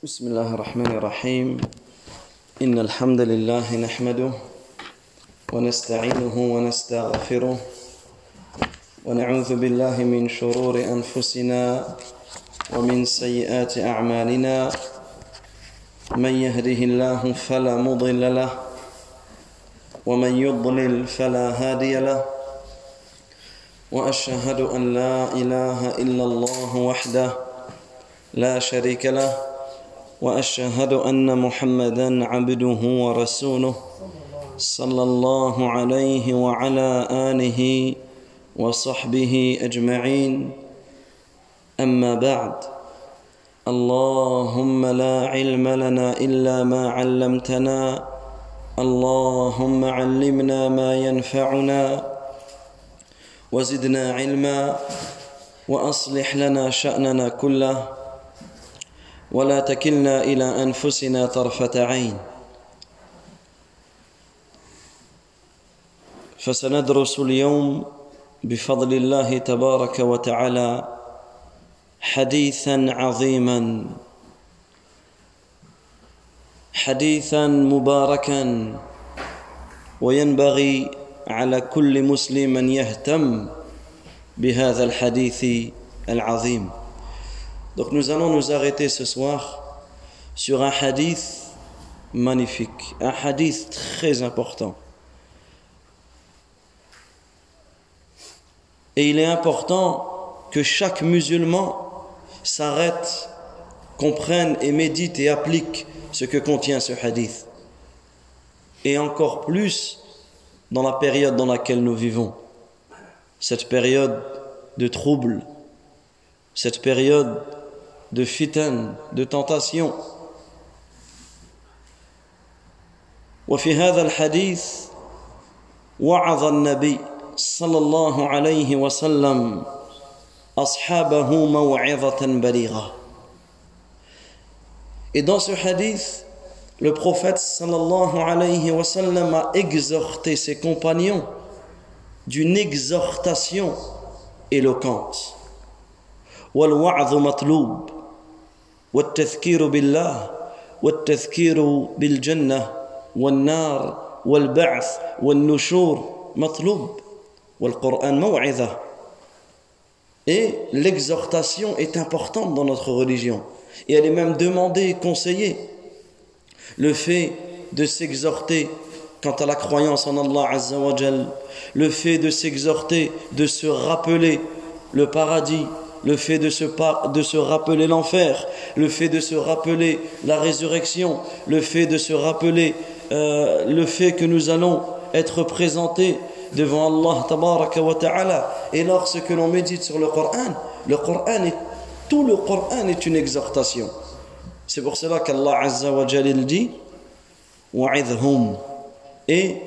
بسم الله الرحمن الرحيم إن الحمد لله نحمده ونستعينه ونستغفره ونعوذ بالله من شرور أنفسنا ومن سيئات أعمالنا من يهده الله فلا مضل له ومن يضلل فلا هادي له وأشهد أن لا إله إلا الله وحده لا شريك له وأشهد أن محمدًا عبده ورسوله صلى الله عليه وعلى آله وصحبه أجمعين أما بعد اللهم لا علم لنا إلا ما علمتنا اللهم علمنا ما ينفعنا وزدنا علما وأصلح لنا شأننا كله ولا تكلنا إلى أنفسنا طرفة عين فسندرس اليوم بفضل الله تبارك وتعالى حديثا عظيما حديثا مباركا وينبغي على كل مسلم أن يهتم بهذا الحديث العظيم. Donc nous allons nous arrêter ce soir sur un hadith magnifique, un hadith très important. Et il est important que chaque musulman s'arrête, comprenne et médite et applique ce que contient ce hadith. Et encore plus dans la période dans laquelle nous vivons. Cette période de trouble, cette période de fitan, de tentation. وفي هذا الحديث وعظ النبي صلى الله عليه وسلم أصحابه موعظة بليغة. Et dans ce hadith, le prophète sallallahu alayhi wa sallam a exhorté ses compagnons d'une exhortation éloquente. والوعظ مطلوب والتذكير بالله والتذكير بالجنة والنار والبعث والنشور مطلوب والقرآن موعظة. Et l'exhortation est importante dans notre religion et elle est même demandée et conseillée. Le fait de s'exhorter quant à la croyance en Allah Azza wa Jal, le fait de s'exhorter, de se rappeler le paradis, le fait de se rappeler l'enfer, le fait de se rappeler la résurrection, le fait de se rappeler le fait que nous allons être présentés devant Allah tabaraka wa ta'ala. Et lorsque l'on médite sur tout le Coran est une exhortation. C'est pour cela qu'Allah Azza wa Jal dit wa'idhum, et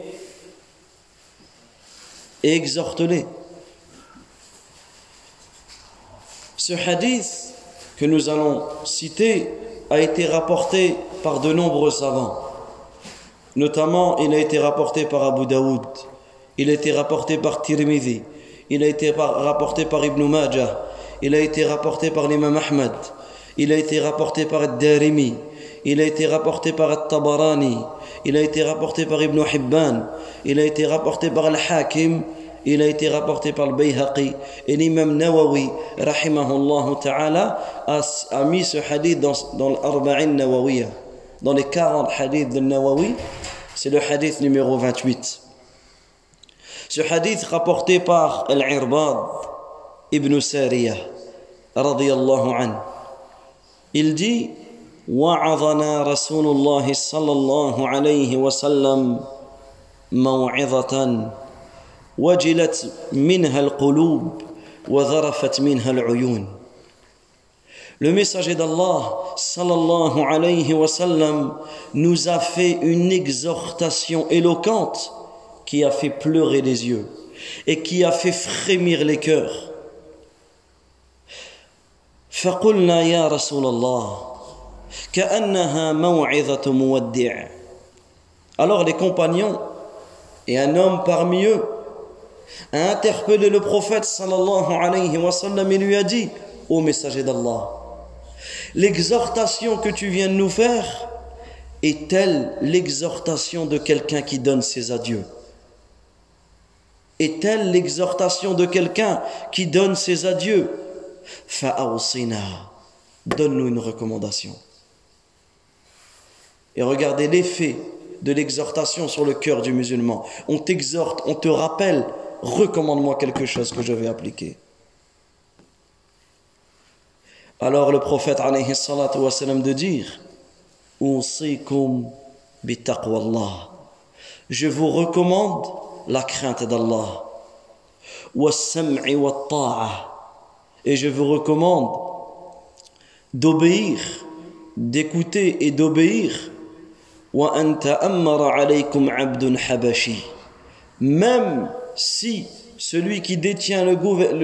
exhorte-les. Ce hadith que nous allons citer a été rapporté par de nombreux savants. Notamment, il a été rapporté par Abu Daoud, il a été rapporté par Tirmidhi, il a été rapporté par Ibn Majah, il a été rapporté par l'imam Ahmad, il a été rapporté par Ad-Darimi, il a été rapporté par At-Tabarani, il a été rapporté par Ibn Hibban, il a été rapporté par Al-Hakim, il a été rapporté par le Bayhaqi. Et l'imam Nawawi rahimahullah ta'ala a mis ce hadith dans l'Arba'in Nawawiyya, dans les 40 hadiths de Nawawi. C'est le hadith numéro 28. Ce hadith rapporté par Al-Irbad ibn Sariyah radiyallahu anhu, il dit وعظنا رسول الله صلى الله عليه وسلم موعظة وجلت منها القلوب وذرفت منها العيون. Le messager d'Allah sallallahu alayhi wa sallam nous a fait une exhortation éloquente qui a fait pleurer les yeux et qui a fait frémir les cœurs. فقلنا يا رسول الله كأنها موعظة مودع. Alors les compagnons et un homme parmi eux a interpellé le prophète sallallahu alayhi wa sallam et lui a dit: Ô messager d'Allah, L'exhortation que tu viens de nous faire est-elle l'exhortation de quelqu'un qui donne ses adieux? Est-elle l'exhortation de quelqu'un qui donne ses adieux? Fa'awsina, donne-nous une recommandation. Et regardez l'effet de l'exhortation sur le cœur du musulman. On t'exhorte, on te rappelle, recommande-moi quelque chose que je vais appliquer. Alors le prophète alayhi salatu wa salam de dire: Usikum bitaqwallah. Je vous recommande la crainte d'Allah. Wassam'i wa ta'a. Et je vous recommande d'obéir, d'écouter et d'obéir. Wa an ta'ammara alaykum 'abdun habashi. Même si celui qui détient le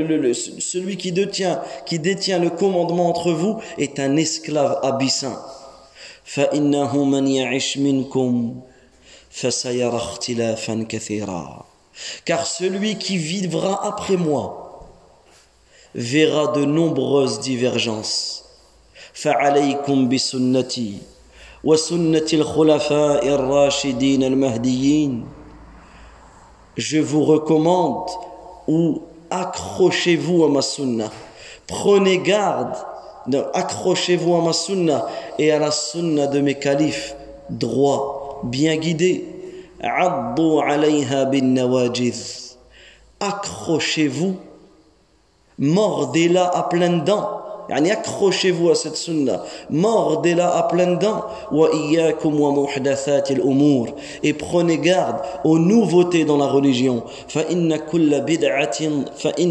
commandement entre vous est un esclave abyssin. فَإِنَّهُ مَنْ يَعِشْ مِنْكُمْ فَسَيَرَى اخْتِلَافًا كَثِيرًا. Car celui qui vivra après moi verra de nombreuses divergences. فَعَلَيْكُمْ بِسُنَّتِي وَسُنَّةِ الْخُلَفَاءِ الرَّاشِدِينَ الْمَهْدِيِّينَ. Je vous recommande ou accrochez-vous à ma sunna. Prenez garde, accrochez-vous à ma sunna et à la sunna de mes califes droits, bien guidés. Addu alayha bin nawajiz. Accrochez-vous, mordez-la à pleines dents. Yani accrochez-vous à cette sunna, mordez-la à pleines dents. Wa iyyakum wa muhdathatil umur. Et prenez garde aux nouveautés dans la religion. Fa inna kulla bid'atin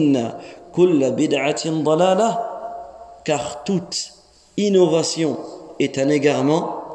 dalalah. Car toute innovation est un égarement.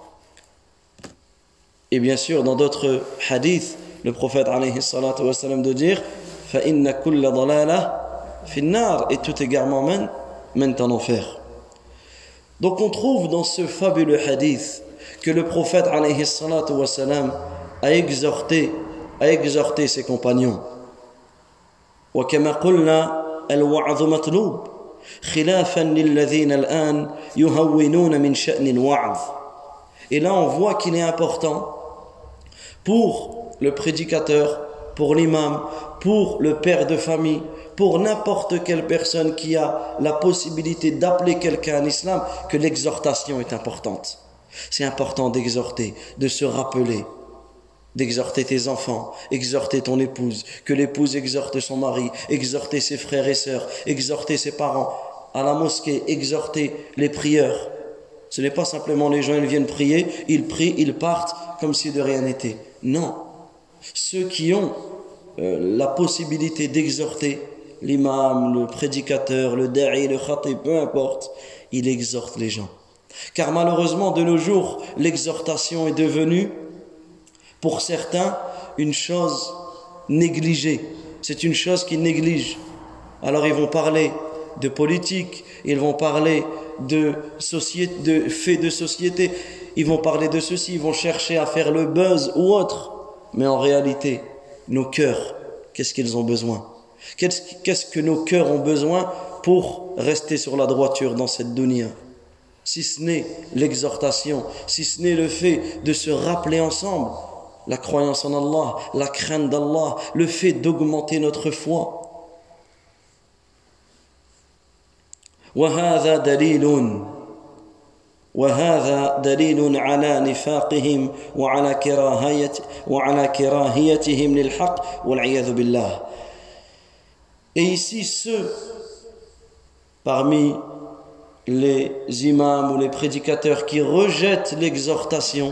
Et bien sûr, dans d'autres hadiths, le prophète alayhi salatu wa salam de dire: Fa inna kulla dalalah finnar. Et tout égarement mène en enfer. Donc on trouve dans ce fabuleux hadith que le prophète alayhi salatu wa salam a exhorté ses compagnons. Wa kama qulna al-wa'dhu matlub khilafan lilladhina al-an yuhawwinuna min sha'ni al-wa'dh. Et là on voit qu'il est important pour le prédicateur, pour l'imam, pour le père de famille, pour n'importe quelle personne qui a la possibilité d'appeler quelqu'un à l'islam, que l'exhortation est importante. C'est important d'exhorter, de se rappeler, d'exhorter tes enfants, exhorter ton épouse, que l'épouse exhorte son mari, exhorter ses frères et sœurs, exhorter ses parents, à la mosquée, exhorter les prieurs. Ce n'est pas simplement les gens, ils viennent prier, ils prient, ils partent comme si de rien n'était. Non. Ceux qui ont la possibilité d'exhorter, l'imam, le prédicateur, le da'i, le khatib, peu importe, il exhorte les gens. Car malheureusement, de nos jours, l'exhortation est devenue, pour certains, une chose négligée. C'est une chose qu'ils négligent. Alors ils vont parler de politique, ils vont parler de faits de société, ils vont parler de ceci, ils vont chercher à faire le buzz ou autre. Mais en réalité, nos cœurs, qu'est-ce qu'ils ont besoin? Qu'est-ce que nos cœurs ont besoin pour rester sur la droiture dans cette dunya? Si ce n'est l'exhortation, si ce n'est le fait de se rappeler ensemble la croyance en Allah, la crainte d'Allah, le fait d'augmenter notre foi. وهذا دليل على نفاقهم وعلى كراهيتهم للحق والعياذ بالله. Et ici, ceux parmi les imams ou les prédicateurs qui rejettent l'exhortation,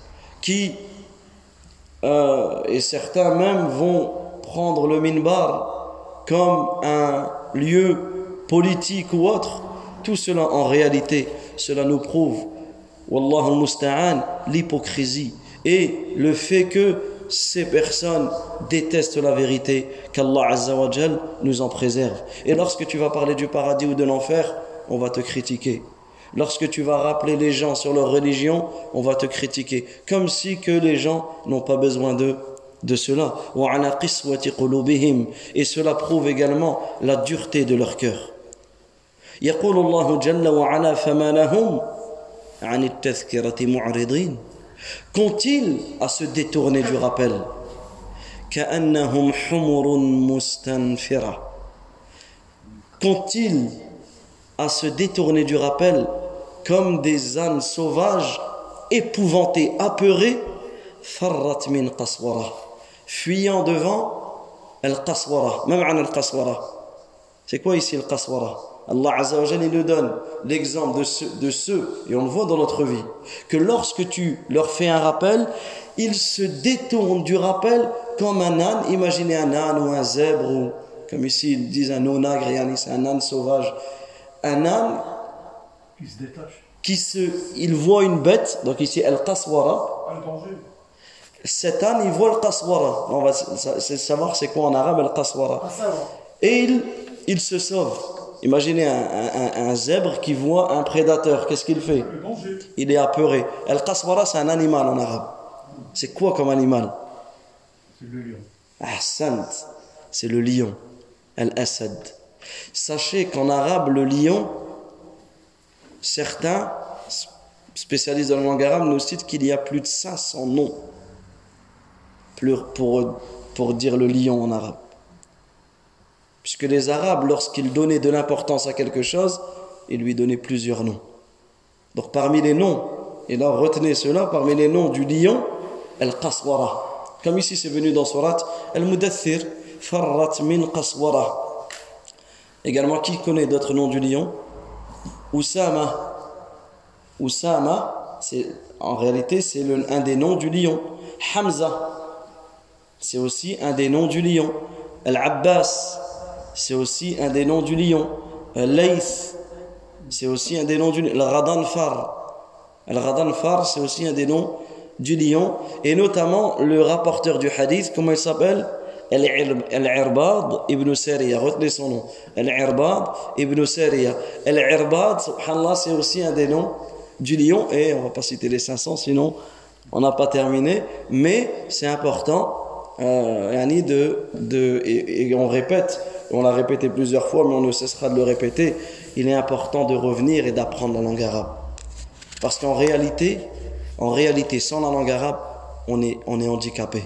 et certains même vont prendre le minbar comme un lieu politique ou autre, tout cela en réalité, cela nous prouve, wallahu musta'an, l'hypocrisie et le fait que ces personnes détestent la vérité, qu'Allah Azza wa Jal nous en préserve. Et lorsque tu vas parler du paradis ou de l'enfer, on va te critiquer. Lorsque tu vas rappeler les gens sur leur religion, on va te critiquer. Comme si que les gens n'ont pas besoin de cela. Et cela prouve également la dureté de leur cœur. يقول الله جل وعلا فما لهم عن التذكرة معرضين. Qu'ont-ils à se détourner du rappel? كأنهم حمر مستنفرة. Qu'ont-ils à se détourner du rappel comme des ânes sauvages épouvantées, apeurées, فرت من قسورة, fuyant devant al-qaswara. Ma ma'na al-qaswara? C'est quoi ici al-qaswara? Allah Azza wa Jalla il nous donne l'exemple de ceux, et on le voit dans notre vie, que lorsque tu leur fais un rappel, ils se détournent du rappel comme un âne. Imaginez un âne ou un zèbre, ou comme ici ils disent un onagre, c'est un âne sauvage. Un âne qui se détache. Il voit une bête, donc ici al-qaswara. Un danger. Cet âne il voit al-qaswara. On va savoir c'est quoi en arabe al-qaswara. Et il se sauve. Imaginez un zèbre qui voit un prédateur. Qu'est-ce qu'il fait? Il est apeuré. Al-qaswara, c'est un animal en arabe. C'est quoi comme animal? C'est le lion. Ahsant, c'est le lion. Al-asad. Sachez qu'en arabe, le lion, certains spécialistes de la langue arabe nous citent qu'il y a plus de 500 noms pour dire le lion en arabe. Puisque les Arabes, lorsqu'ils donnaient de l'importance à quelque chose, ils lui donnaient plusieurs noms. Donc parmi les noms, et là retenez cela, parmi les noms du lion, Al-Qaswara. Comme ici c'est venu dans Surat Al-Mudaththir, Farrat min Qaswara. Également, qui connaît d'autres noms du lion? Oussama. Oussama, en réalité, c'est un des noms du lion. Hamza, c'est aussi un des noms du lion. Al-Abbas, c'est aussi un des noms du lion. Layth, c'est aussi un des noms du lion. Al-Ghadanfar, c'est aussi un des noms du lion. Et notamment le rapporteur du hadith, comment il s'appelle? Al-Irbad ibn Sariya. Retenez son nom. Al-Irbad ibn Sariya. Al-Irbad, subhanallah, c'est aussi un des noms du lion. Et on ne va pas citer les 500, sinon on n'a pas terminé. Mais c'est important. Et on répète, on l'a répété plusieurs fois, mais on ne cessera de le répéter. Il est important de revenir et d'apprendre la langue arabe, parce qu'en réalité, sans la langue arabe, on est handicapé.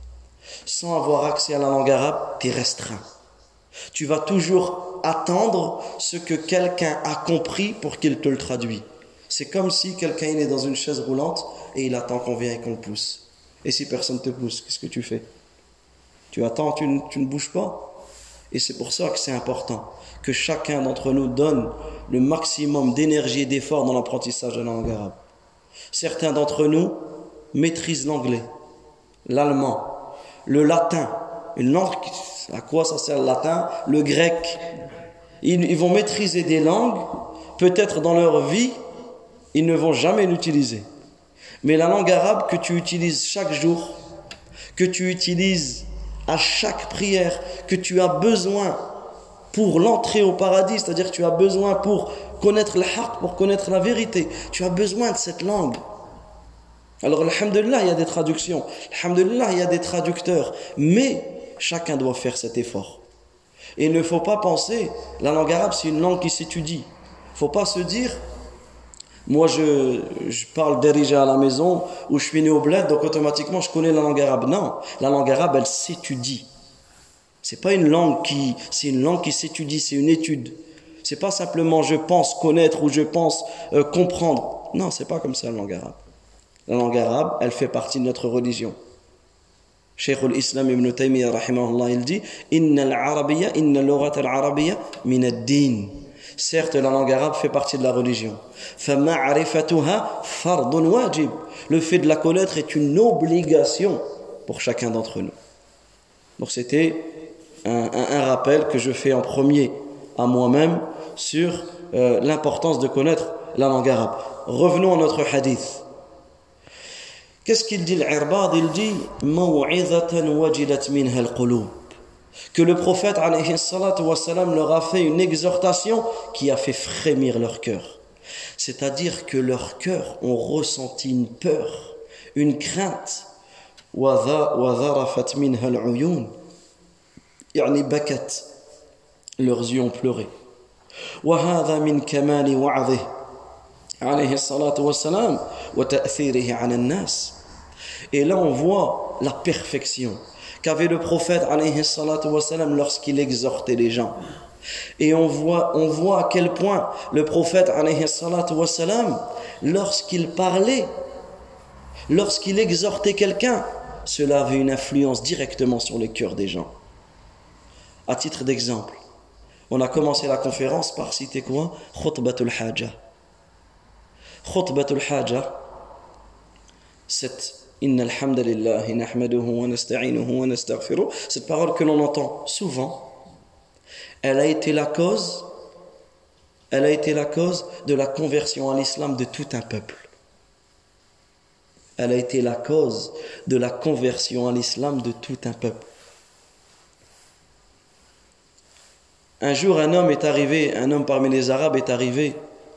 Sans avoir accès à la langue arabe, tu es restreint. Tu vas toujours attendre ce que quelqu'un a compris pour qu'il te le traduise. C'est comme si quelqu'un est dans une chaise roulante et il attend qu'on vienne et qu'on le pousse. Et si personne ne te pousse, qu'est-ce que tu fais? Tu attends, tu ne bouges pas. Et c'est pour ça que c'est important que chacun d'entre nous donne le maximum d'énergie et d'effort dans l'apprentissage de la langue arabe. Certains d'entre nous maîtrisent l'anglais, l'allemand, le latin, une langue, à quoi ça sert le latin? Le grec. Ils vont maîtriser des langues, peut-être dans leur vie, ils ne vont jamais l'utiliser. Mais la langue arabe que tu utilises chaque jour, que tu utilises à chaque prière, que tu as besoin pour l'entrée au paradis, c'est-à-dire que tu as besoin pour connaître le haqq, pour connaître la vérité, tu as besoin de cette langue. Alors, alhamdulillah, il y a des traductions, alhamdulillah, il y a des traducteurs, mais chacun doit faire cet effort. Et il ne faut pas penser, la langue arabe, c'est une langue qui s'étudie. Il ne faut pas se dire, moi je parle d'Erija à la maison, ou je suis né au bled, donc automatiquement je connais la langue arabe. Non, la langue arabe, elle s'étudie. C'est pas une langue c'est une langue qui s'étudie, c'est une étude. C'est pas simplement je pense connaître ou je pense comprendre. Non, c'est pas comme ça la langue arabe. La langue arabe, elle fait partie de notre religion. Cheikh al-Islam ibn Taymiyyah, rahimahullah, il dit Inna al-lughat al-arabiyya min ad-din. Certes, la langue arabe fait partie de la religion. فَمَعْرِفَتُهَا فَرْضٌ wajib. Le fait de la connaître est une obligation pour chacun d'entre nous. Donc c'était un rappel que je fais en premier à moi-même sur l'importance de connaître la langue arabe. Revenons à notre hadith. Qu'est-ce qu'il dit l'Irbad? Il dit مَوْعِظَةً وَجِلَتْ مِنْهَا الْقُلُوبِ. Que le prophète alayhi salatu wa salam leur a fait une exhortation qui a fait frémir leur cœur. C'est-à-dire que leurs cœurs ont ressenti une peur, une crainte. وَذَرَفَتْ مِنْهَا الْعُيُونَ يعني بكت. Leurs yeux ont pleuré. وهذا من كمال وعظه عليه الصلاة والسلام وتأثيره على الناس. Et là on voit la perfection qu'avait le prophète alayhi salatu wassalam lorsqu'il exhortait les gens. Et on voit à quel point le prophète alayhi salatu wassalam, lorsqu'il parlait, lorsqu'il exhortait quelqu'un, cela avait une influence directement sur les cœurs des gens. À titre d'exemple, on a commencé la conférence par citer quoi? Khutbatul Haja. Khutbatul Haja, cette Inna alhamdulillahi nahmaduhu wa nasta'inuhu wa nastaghfiruh, cette parole que l'on entend souvent, elle a été la cause de la conversion à l'islam de tout un peuple. Elle a été la cause de la conversion à l'islam de tout un peuple. Un jour, un homme parmi les Arabes est arrivé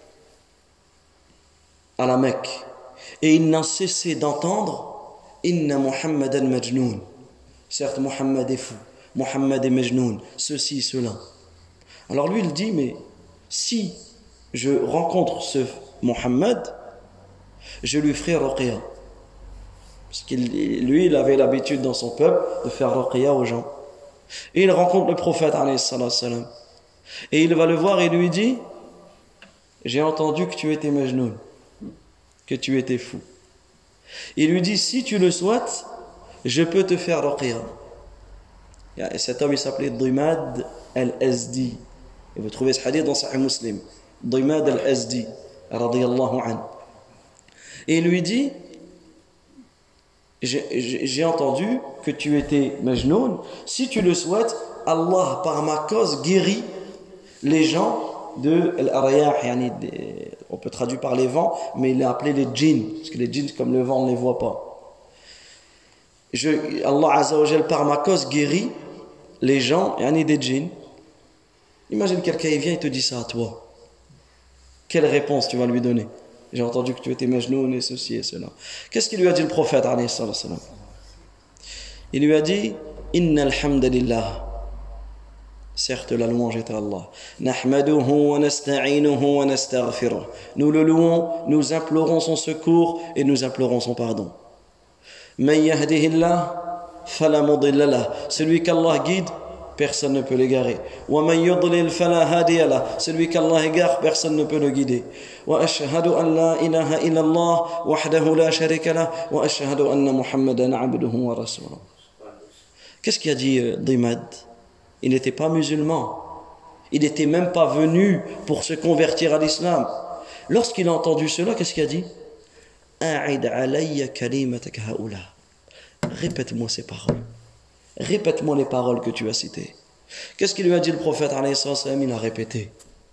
à la Mecque et il n'a cessé d'entendre Inna Muhammadan Majnoun. Certes, Muhammad est fou, Muhammad est Majnoun, ceci, cela. Alors lui, il dit, mais si je rencontre ce Muhammad, je lui ferai ruqya. Parce qu'il avait l'habitude dans son peuple de faire ruqya aux gens. Et il rencontre le prophète, alayhi salam. Et il va le voir et lui dit, j'ai entendu que tu étais Majnoun, que tu étais fou. Il lui dit, si tu le souhaites, je peux te faire ruqya. Et cet homme, il s'appelait Dimad al-Azdi. Et vous trouvez ce hadith dans Sahih Muslim. Dimad al-Azdi, radiyallahu anhu. Et il lui dit, j'ai entendu que tu étais Majnoun. Si tu le souhaites, Allah, par ma cause, guérit les gens de l'Ariyah, on peut traduire par les vents, mais il a appelé les djinns, parce que les djinns, comme le vent, on ne les voit pas. Allah Azza wa Jal, par ma cause, guérit les gens, des djinns. Imagine quelqu'un, il vient et te dit ça à toi. Quelle réponse tu vas lui donner? J'ai entendu que tu étais Majnoun et ceci et cela. Qu'est-ce qu'il lui a dit le prophète, alayhi salam? Il lui a dit, Inna alhamdulillah. Certes, la louange est à Allah. Nahmaduhu wa nasta'inuhu wa nastaghfiruh. Nous le louons, nous implorons son secours et nous implorons son pardon. Man yahdihillah fala mudilla lah. Celui qu'Allah guide, personne ne peut l'égarer. Wa man yudlil fala hadiya lah. Celui qu'Allah égare, personne ne peut le guider. Wa ashhadu an la ilaha illallah wahdahu la sharika lah wa ashhadu anna Muhammadan abduhu wa rasuluh. Qu'est-ce qu'il a dit Dimad? Il n'était pas musulman. Il n'était même pas venu pour se convertir à l'islam. Lorsqu'il a entendu cela, qu'est-ce qu'il a dit? A'id alayya kalimatak haula. Répète-moi ces paroles. Répète-moi les paroles que tu as citées. Qu'est-ce qu'il lui a dit le prophète alayhi salam? Il a répété.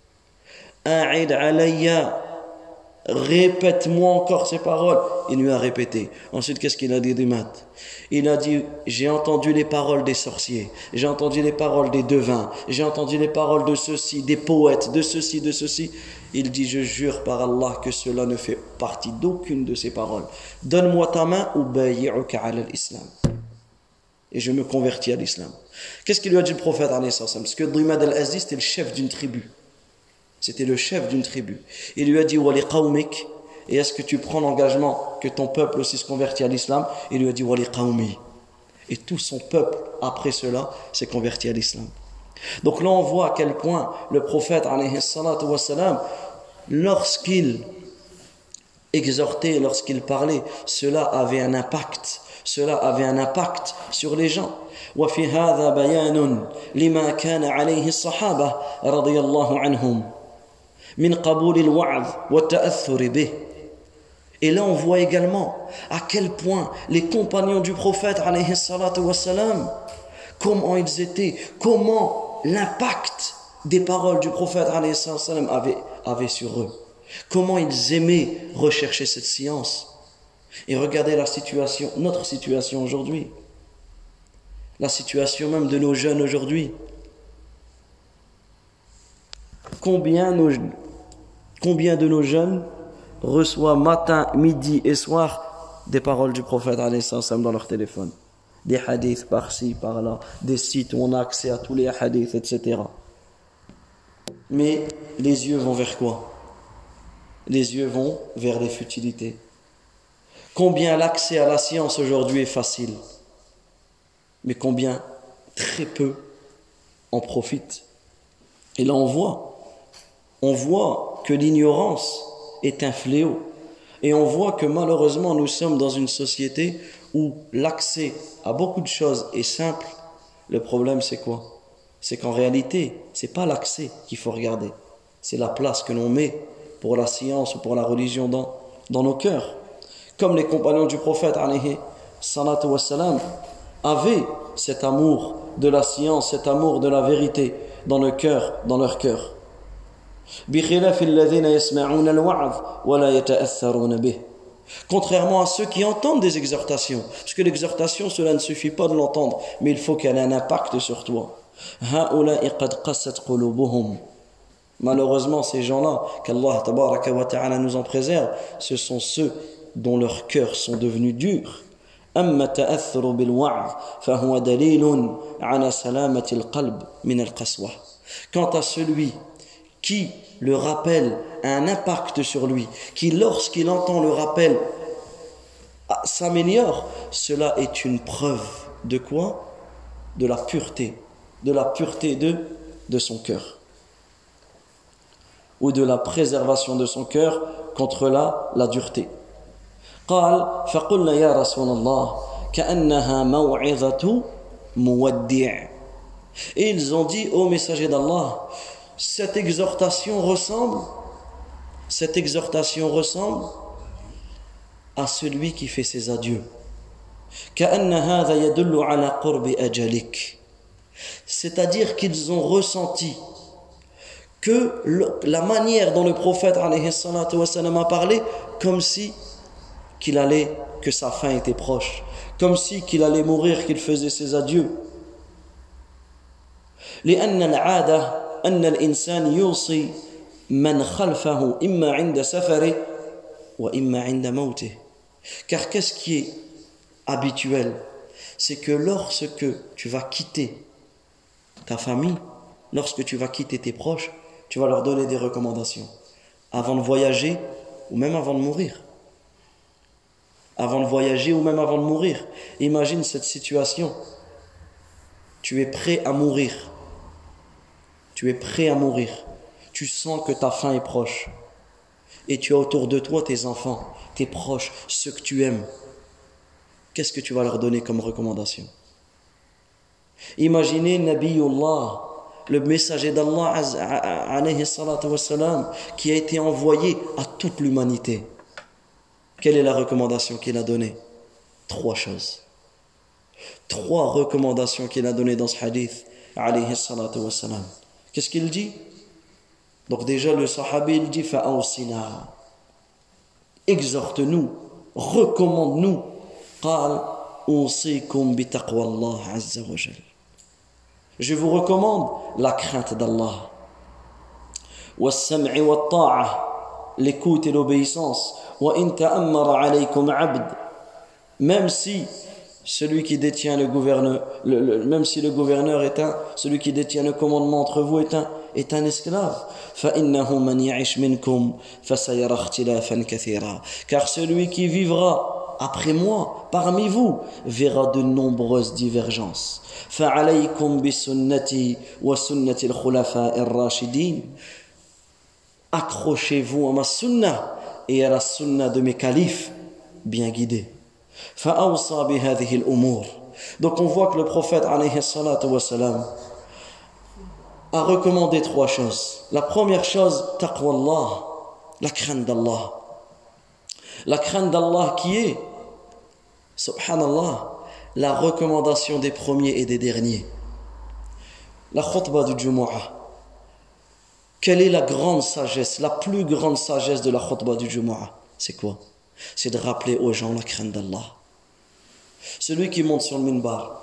A'id alayya. Répète-moi encore ces paroles. Il lui a répété. Ensuite, qu'est-ce qu'il a dit Dimad? Il a dit, j'ai entendu les paroles des sorciers, j'ai entendu les paroles des devins, j'ai entendu les paroles de ceux-ci, des poètes, de ceci, de ceci. Il dit, je jure par Allah que cela ne fait partie d'aucune de ces paroles. Donne-moi ta main ou bayi'uka ala l'islam. Et je me convertis à l'islam. Qu'est-ce qu'il lui a dit le prophète alayhi salam? Parce que Dimad al-Azdi, c'était le chef d'une tribu. C'était le chef d'une tribu. Il lui a dit, wali qawmik. Et est-ce que tu prends l'engagement que ton peuple aussi se convertit à l'islam? Il lui a dit, wali qawmi. Et tout son peuple, après cela, s'est converti à l'islam. Donc là, on voit à quel point le prophète, alayhi salatu wassalam, lorsqu'il exhortait, lorsqu'il parlait, cela avait un impact. Cela avait un impact sur les gens. وفي هذا بيان لما كان عليه الصحابة رضي الله عنهم من قبول الوعظ والتأثر به. Et là, on voit également à quel point les compagnons du prophète, alayhi salatu wassalam, comment ils étaient, comment l'impact des paroles du prophète, alayhi salatu wassalam, avait sur eux. Comment ils aimaient rechercher cette science. Et regardez la situation, notre situation aujourd'hui. La situation même de nos jeunes aujourd'hui. Combien de nos jeunes reçoivent matin, midi et soir des paroles du prophète alayhi salam dans leur téléphone, des hadiths par-ci, par-là, des sites où on a accès à tous les hadiths, etc. Mais les yeux vont vers quoi? Les yeux vont vers les futilités. Combien l'accès à la science aujourd'hui est facile, mais combien très peu en profitent. Et là on voit que l'ignorance est un fléau. Et on voit que malheureusement nous sommes dans une société où l'accès à beaucoup de choses est simple. Le problème c'est quoi? C'est qu'en réalité, c'est pas l'accès qu'il faut regarder, c'est la place que l'on met pour la science ou pour la religion dans nos cœurs. Comme les compagnons du prophète alayhi salatu wassalam avaient cet amour de la science, cet amour de la vérité dans leur cœur. Contrairement à ceux qui entendent des exhortations, parce que l'exhortation, cela ne suffit pas de l'entendre, mais il faut qu'elle ait un impact sur toi. Malheureusement, ces gens-là, qu'Allah tabaraka wa ta'ala nous en préserve, ce sont ceux dont leurs cœurs sont devenus durs. أما التأثر بالوعظ فهو دليل على سلامة القلب من القسوة. Quant à celui qui le rappel a un impact sur lui, qui lorsqu'il entend le rappel s'améliore, cela est une preuve de quoi? De la pureté de son cœur, ou de la préservation de son cœur contre la dureté. قال فقلنا يا رسول الله كأنها موعظة مودع. Et ils ont dit, ô messager d'Allah, cette exhortation ressemble à celui qui fait ses adieux. كأن هذا يدل على قرب أجلك. C'est-à-dire qu'ils ont ressenti que la manière dont le prophète alayhi salatu wa sallam a parlé, comme si que sa fin était proche, comme si qu'il allait mourir, qu'il faisait ses adieux. لأن العادة أن الإنسان يوصي من خلفه إما عند سفره وإما عند موته. Car qu'est-ce qui est habituel? C'est que lorsque tu vas quitter ta famille, lorsque tu vas quitter tes proches, tu vas leur donner des recommandations avant de voyager ou même avant de mourir. Imagine cette situation. Tu es prêt à mourir. Tu sens que ta fin est proche. Et tu as autour de toi tes enfants, tes proches, ceux que tu aimes. Qu'est-ce que tu vas leur donner comme recommandation? Imaginez Nabiyullah, le messager d'Allah alayhi salatu wassalam, qui a été envoyé à toute l'humanité. Quelle est la recommandation qu'il a donnée? 3 choses. 3 recommandations qu'il a données dans ce hadith alayhi salatu wassalam. Qu'est-ce qu'il dit? Donc déjà le sahabi il dit fa'awsina, exhorte-nous, recommande-nous. قال أوصيكم بتقوى الله عز وجل. Je vous recommande la crainte d'Allah. والسمع والطاعة, l'écoute et l'obéissance. وإن تأمر عليكم عبد, même si celui qui détient le gouverneur, même si le gouverneur celui qui détient le commandement entre vous est un esclave. فإنه من يعش منكم فسيرى اختلافا كثيرا. Car celui qui vivra après moi, parmi vous, verra de nombreuses divergences. فعليكم بسنتي وسنة الخلفاء الراشدين. Accrochez-vous à ma sunna et à la sunna de mes califes bien guidés. فأوصى بهذه الأمور. Donc on voit que le prophète alayhi salatu wa salam a recommandé 3 choses. La première chose, taqwa Allah, la crainte d'Allah. La crainte d'Allah qui est, subhanallah, la recommandation des premiers et des derniers. La khutbah du Jumu'ah. Quelle est la grande sagesse, la plus grande sagesse de la khutbah du Jumu'ah? C'est quoi? C'est de rappeler aux gens la crainte d'Allah. Celui qui monte sur le minbar,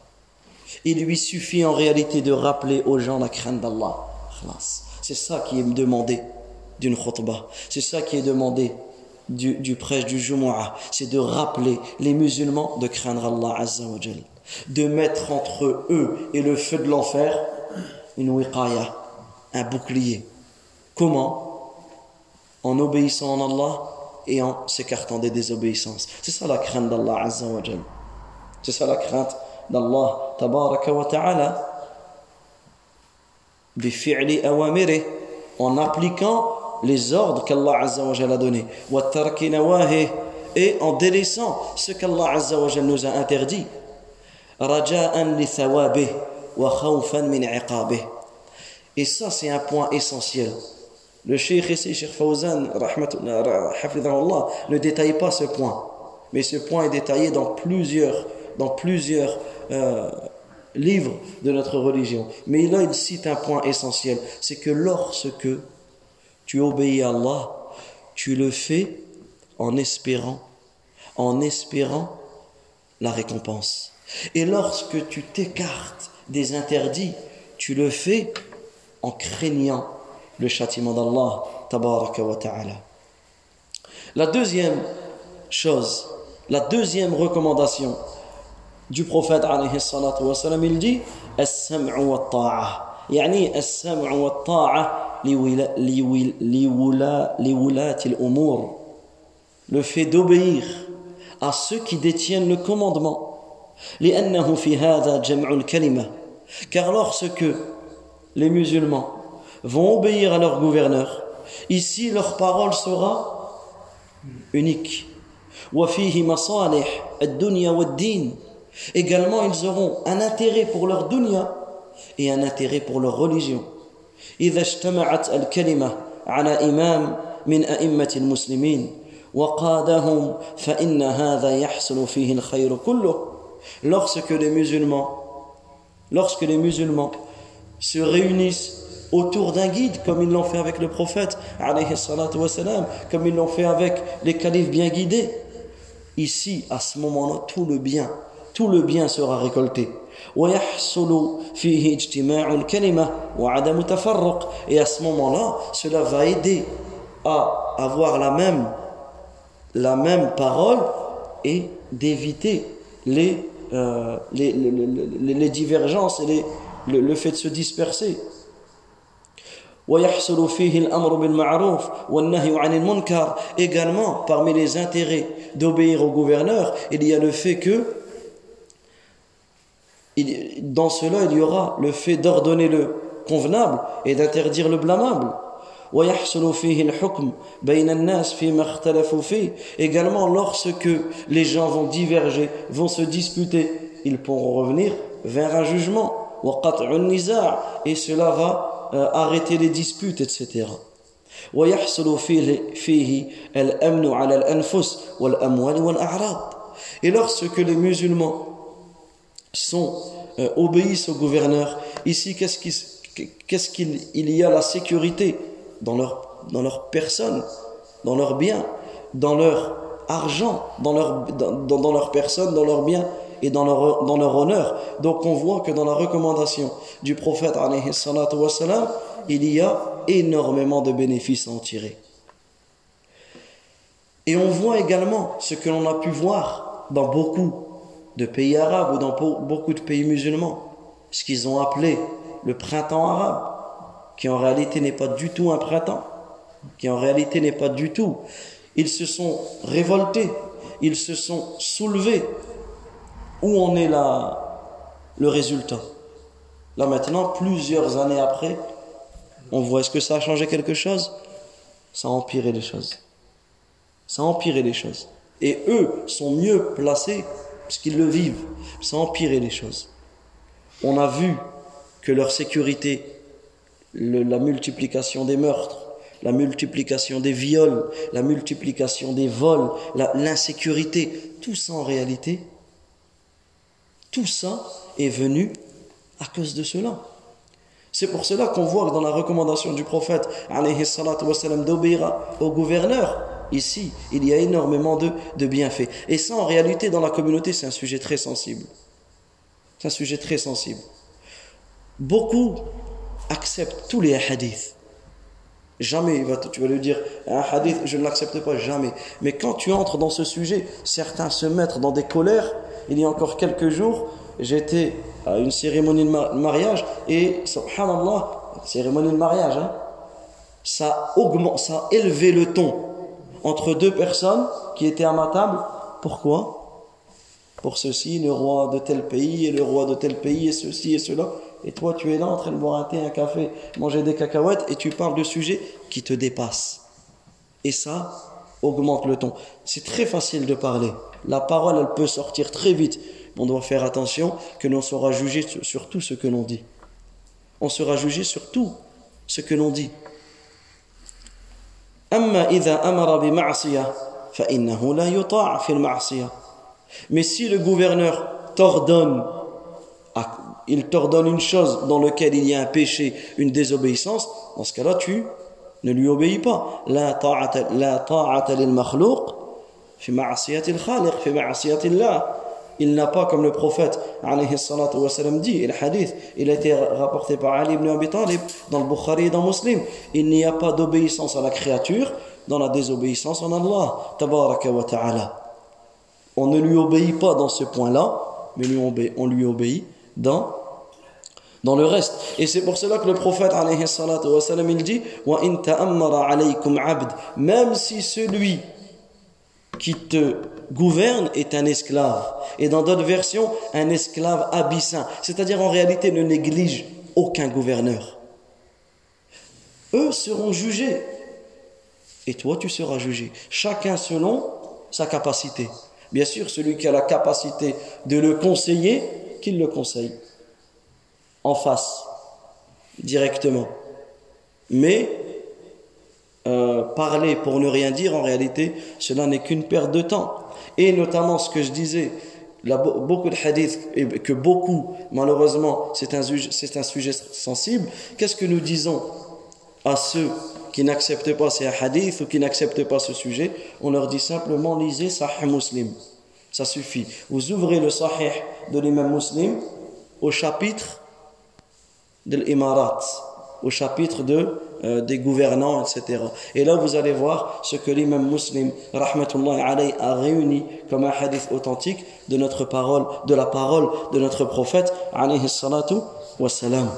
il lui suffit en réalité de rappeler aux gens la crainte d'Allah. C'est ça qui est demandé d'une khutbah. C'est ça qui est demandé du prêche du Jumu'ah. C'est de rappeler les musulmans de craindre Allah Azza wa Jal. De mettre entre eux et le feu de l'enfer une wiqaya, un bouclier. Comment? En obéissant en Allah et en s'écartant des désobéissances. C'est ça la crainte d'Allah Azza wa Jal. C'est ça la crainte d'Allah Tabaraka wa Ta'ala. Bifi'li awamiri, en appliquant les ordres qu'Allah Azza wa Jal a donnés. Wa tarki nawahih, et en délaissant ce qu'Allah Azza wa Jal nous a interdit. Raja'an li thawabih wa khawfan min iqabih. Et ça, c'est un point essentiel. Le cheikh ici, Cheikh Fawzan, hafidhahullah, ne détaille pas ce point. Mais ce point est détaillé dans plusieurs livres de notre religion. Mais là, il cite un point essentiel. C'est que lorsque tu obéis à Allah, tu le fais en espérant la récompense. Et lorsque tu t'écartes des interdits, tu le fais en craignant le châtiment d'Allah tabaraka wa ta'ala. La deuxième chose, la deuxième recommandation du prophète alayhi salatu wa salam, il dit as-sam'u wa ta'a, yani as-sam'u wa ta'a liwulati al-umur, le fait d'obéir à ceux qui détiennent le commandement, li'annahu fi hadha jam'u al-kalima, car lorsque les musulmans vont obéir à leur gouverneur, ici leur parole sera unique. وَفِيهِ مَصَالِحْ الدُّنْيَا وَالدِّينِ. Également, ils auront un intérêt pour leur dunya et un intérêt pour leur religion. إِذَا اجْتَمَعَتْ الْكَلِمَةُ عَلَى إِمَامٍ مِنْ أَئِمَّةِ الْمُسْلِمِينَ وَقَادَهُمْ فَإِنَّ هَذَا يَحْصُلُ فِيهِ الْخَيْرُ كُلُّهُ. Lorsque les musulmans se réunissent autour d'un guide, comme ils l'ont fait avec le prophète alayhi salatu wa salam, comme ils l'ont fait avec les califes bien guidés, ici, à ce moment-là, tout le bien sera récolté. وَيَحْصُلُ فِيهِ اجْتِمَاعُ الْكَلِمَةِ وَعَدَمُ تَفَرُّقٍ. Et à ce moment-là, cela va aider à avoir la même parole et d'éviter les divergences et le fait de se disperser. ويحصل فيه الأمر بالمعروف والنهي عن المنكر. Également, parmi les intérêts d'obéir au gouverneur, il y a le fait que dans cela il y aura le fait d'ordonner le convenable et d'interdire le blâmable. ويحصل فيه الحكم بين الناس فيما اختلفوا فيه. Également, lorsque les gens vont diverger, vont se disputer, ils pourront revenir vers un jugement. وقطع النزاع, et cela va arrêter les disputes, etc. ويحصل فيه الأمن على الأنفس والأموال والأعراض. Et lorsque les musulmans obéissent au gouverneur, ici qu'est-ce qu'il y a la sécurité dans leur personne, dans leurs biens, dans leur argent, dans leur personne, dans leurs biens et dans leur honneur. Donc on voit que dans la recommandation du prophète alayhi salatu wa salam, il y a énormément de bénéfices à en tirer. Et on voit également ce que l'on a pu voir dans beaucoup de pays arabes ou dans beaucoup de pays musulmans, ce qu'ils ont appelé le printemps arabe, qui en réalité n'est pas du tout un printemps, qui en réalité n'est pas du tout. Ils se sont révoltés, ils se sont soulevés. Où en est le résultat? Là maintenant, plusieurs années après, on voit, est-ce que ça a changé quelque chose? Ça a empiré les choses. Ça a empiré les choses. Et eux sont mieux placés, puisqu'ils le vivent. Ça a empiré les choses. On a vu que leur sécurité, la multiplication des meurtres, la multiplication des viols, la multiplication des vols, l'insécurité, tout ça en réalité, tout ça est venu à cause de cela. C'est pour cela qu'on voit que dans la recommandation du prophète alayhi salatu wa salam, d'obéir au gouverneur, ici, il y a énormément de bienfaits. Et ça, en réalité, dans la communauté, c'est un sujet très sensible. C'est un sujet très sensible. Beaucoup acceptent tous les hadiths. Jamais tu vas lui dire un hadith, je ne l'accepte pas, jamais. Mais quand tu entres dans ce sujet, certains se mettent dans des colères. Il y a encore quelques jours, j'étais à une cérémonie de mariage et, subhanallah, cérémonie de mariage, hein, ça a élevé le ton entre deux personnes qui étaient à ma table. Pourquoi? Pour ceci, le roi de tel pays et le roi de tel pays et ceci et cela. Et toi, tu es là en train de boire un thé, un café, manger des cacahuètes et tu parles de sujets qui te dépassent. Et ça augmente le ton. C'est très facile de parler. La parole, elle peut sortir très vite. On doit faire attention que l'on sera jugé sur tout ce que l'on dit. On sera jugé sur tout ce que l'on dit. أما إذا أمر بمعصية فإنه لا يطاع في المعصية. Mais si le gouverneur il t'ordonne une chose dans laquelle il y a un péché, une désobéissance, dans ce cas-là, tu ne lui obéis pas. لا طاعة للمخلوق في معصية الخالق في معصية الله. Il n'a pas, comme le prophète alayhi salatu wa salam dit, et le hadith, il a été rapporté par Ali ibn Abi Talib dans le Bukhari et dans Muslim, il n'y a pas d'obéissance à la créature dans la désobéissance en Allah tabaraka wa ta'ala. On ne lui obéit pas dans ce point-là, mais on lui obéit dans le reste. Et c'est pour cela que le prophète alayhi salatu wa salam, il dit wa in ta'ammara alaykum abd, même si celui qui te gouverne est un esclave, et dans d'autres versions un esclave abyssin, c'est-à-dire en réalité ne néglige aucun gouverneur. Eux seront jugés et toi tu seras jugé, chacun selon sa capacité. Bien sûr, celui qui a la capacité de le conseiller, qu'il le conseille en face directement, mais parler pour ne rien dire, en réalité, cela n'est qu'une perte de temps. Et notamment ce que je disais, beaucoup de hadiths, et que beaucoup, malheureusement, c'est un sujet sensible. Qu'est-ce que nous disons à ceux qui n'acceptent pas ces hadiths ou qui n'acceptent pas ce sujet? On leur dit simplement, lisez Sahih Muslim. Ça suffit. Vous ouvrez le Sahih de l'imam Muslim au chapitre de l'Imarat, au chapitre des gouvernants, etc. Et là, vous allez voir ce que l'imam Muslim, rahmatullahi alayhi, a réuni comme un hadith authentique de la parole de notre prophète, alayhi salatu wassalam.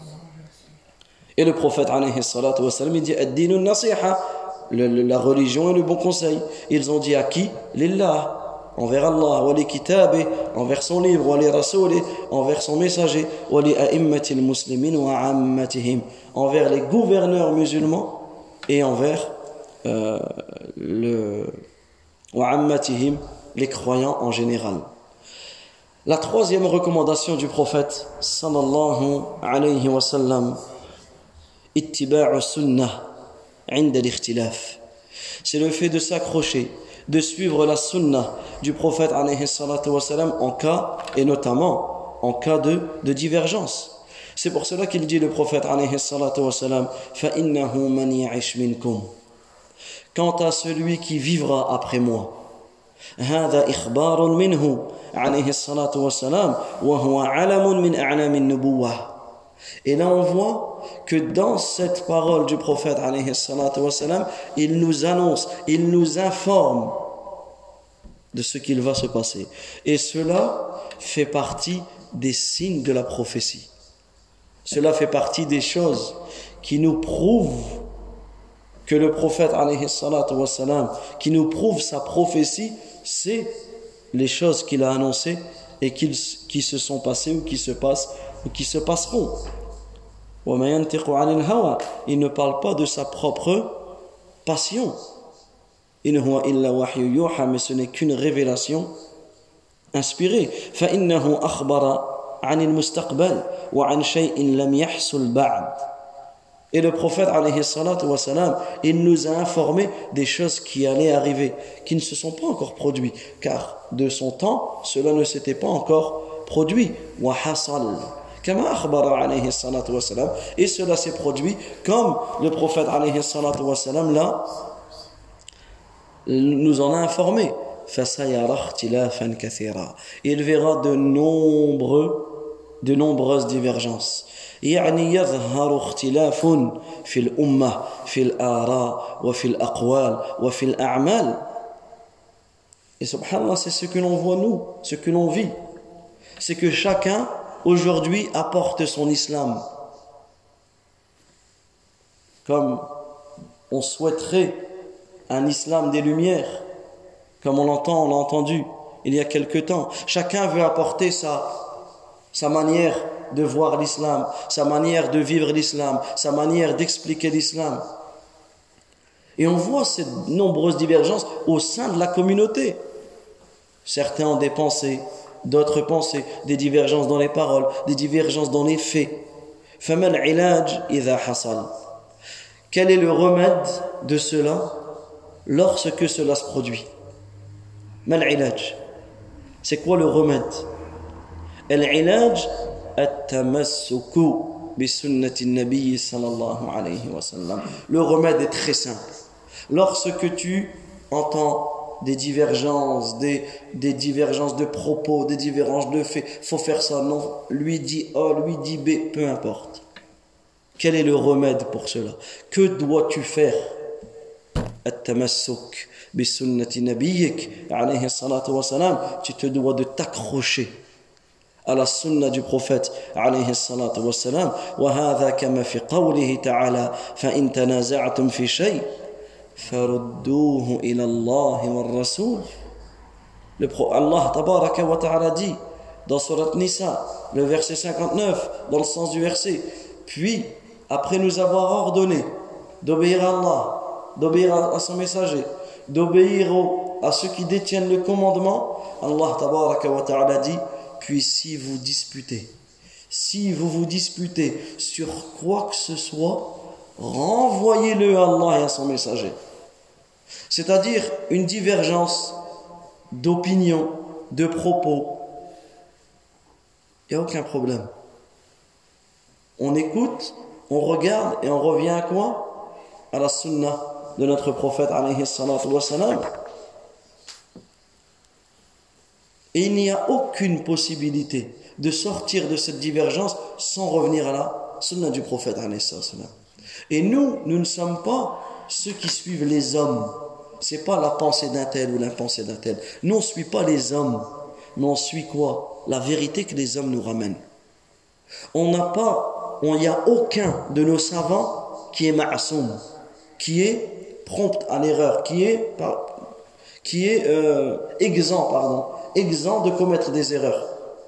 Et le prophète, alayhi salatu wassalam, il dit ad-dinu nasiha, la religion et le bon conseil. Ils ont dit à qui? Lillah, envers Allah, wa li kitabi, envers son livre, wa li rasuli, envers son messager, wa li a'immatil muslimin wa ammatihim, envers les gouverneurs musulmans et envers wa ammatihim, les croyants en général. La troisième recommandation du prophète sallallahu alayhi wa sallam, ittiba'u sunnah 'inda al-ikhtilaf, c'est le fait de s'accrocher, de suivre la sunnah du prophète alayhi salatu wa salam en cas, et notamment en cas de divergence. C'est pour cela qu'il dit, le prophète alayhi salatu wa salam, فَإِنَّهُ مَنْ يَعِشْ مِنْكُمْ, quant à celui qui vivra après moi, هذا إخبار منه عليه الصلاة والسلام وهو علم من أعلام النبوة. Et là on voit que dans cette parole du prophète alayhi salatu wa salam, il nous annonce, il nous informe de ce qu'il va se passer. Et cela fait partie des signes de la prophétie. Cela fait partie des choses qui nous prouvent que le prophète alayhi salatu wa salam, qui nous prouve sa prophétie, c'est les choses qu'il a annoncées et qui se sont passées ou qui se passent ou qui se passeront. Il ne parle pas de sa propre passion. Mais ce n'est qu'une révélation inspirée. فإنه أخبر عن المستقبل وعن شيء لم يحصل بعد. Et le prophète alayhi salatu wa salam, il nous a informé des choses qui allaient arriver, qui ne se sont pas encore produites, car de son temps, cela ne s'était pas encore produit. Wa hasal, kama akhbara alayhi salatu wa salam, et cela s'est produit comme le prophète alayhi salatu wa salam là nous en a informé. Fasayara ikhtilafan kathira, il verra de nombreuses divergences. يعني يظهر اختلاف في الأمة في الآراء وفي الأقوال وفي الأعمال. Et subhanallah, c'est ce que l'on voit nous, ce que l'on vit. C'est que chacun aujourd'hui apporte son islam. comme on souhaiterait un islam des Lumières, comme on l'a entendu il y a quelque temps. Chacun veut apporter sa manière de voir l'islam, sa manière de vivre l'islam, sa manière d'expliquer l'islam. Et on voit ces nombreuses divergences au sein de la communauté. Certains ont des pensées, d'autres pensées, des divergences dans les paroles, des divergences dans les faits. فَمَا الْعِلَاجِ إِذَا حَصَلَ. Quel est le remède de cela lorsque cela se produit? ما العلاج? C'est quoi le remède? العلاج التمسك بسنة النبي صلى الله عليه وسلم. Le remède est très simple. Lorsque tu entends des divergences, des divergences de propos, des divergences de faits, faut faire ça, non, lui dit A, lui dit B, peu importe. Quel est le remède pour cela? Que dois-tu faire? التمسك بسنة نبيك عليه الصلاة والسلام. Tu te dois de t'accrocher à la sunna du prophète عليه الصلاة والسلام. وهذا كما في قوله تعالى فإن تنازعتم في شيء فردوه إلى الله والرسول. Allah tabaraka wa ta'ala dit dans Surat Nisa, le verset 59, dans le sens du verset, puis après nous avoir ordonné d'obéir à Allah, d'obéir à son messager, d'obéir à ceux qui détiennent le commandement, Allah tabaraka wa ta'ala dit, puis si vous vous disputez sur quoi que ce soit, renvoyez-le à Allah et à son messager. C'est-à-dire une divergence d'opinion, de propos, il n'y a aucun problème. On écoute, on regarde et on revient à quoi? À la sunna de notre prophète alayhi salatu wa salam. Et il n'y a aucune possibilité de sortir de cette divergence sans revenir à la sunna du prophète alayhi salatu wa salam. Et nous ne sommes pas ceux qui suivent les hommes. C'est pas la pensée d'un tel ou la pensée d'un tel. Nous on ne suit pas les hommes, mais on suit quoi? La vérité que les hommes nous ramènent. Il n'y a aucun de nos savants qui est ma'asoum, qui est prompt à l'erreur, qui est exempt de commettre des erreurs.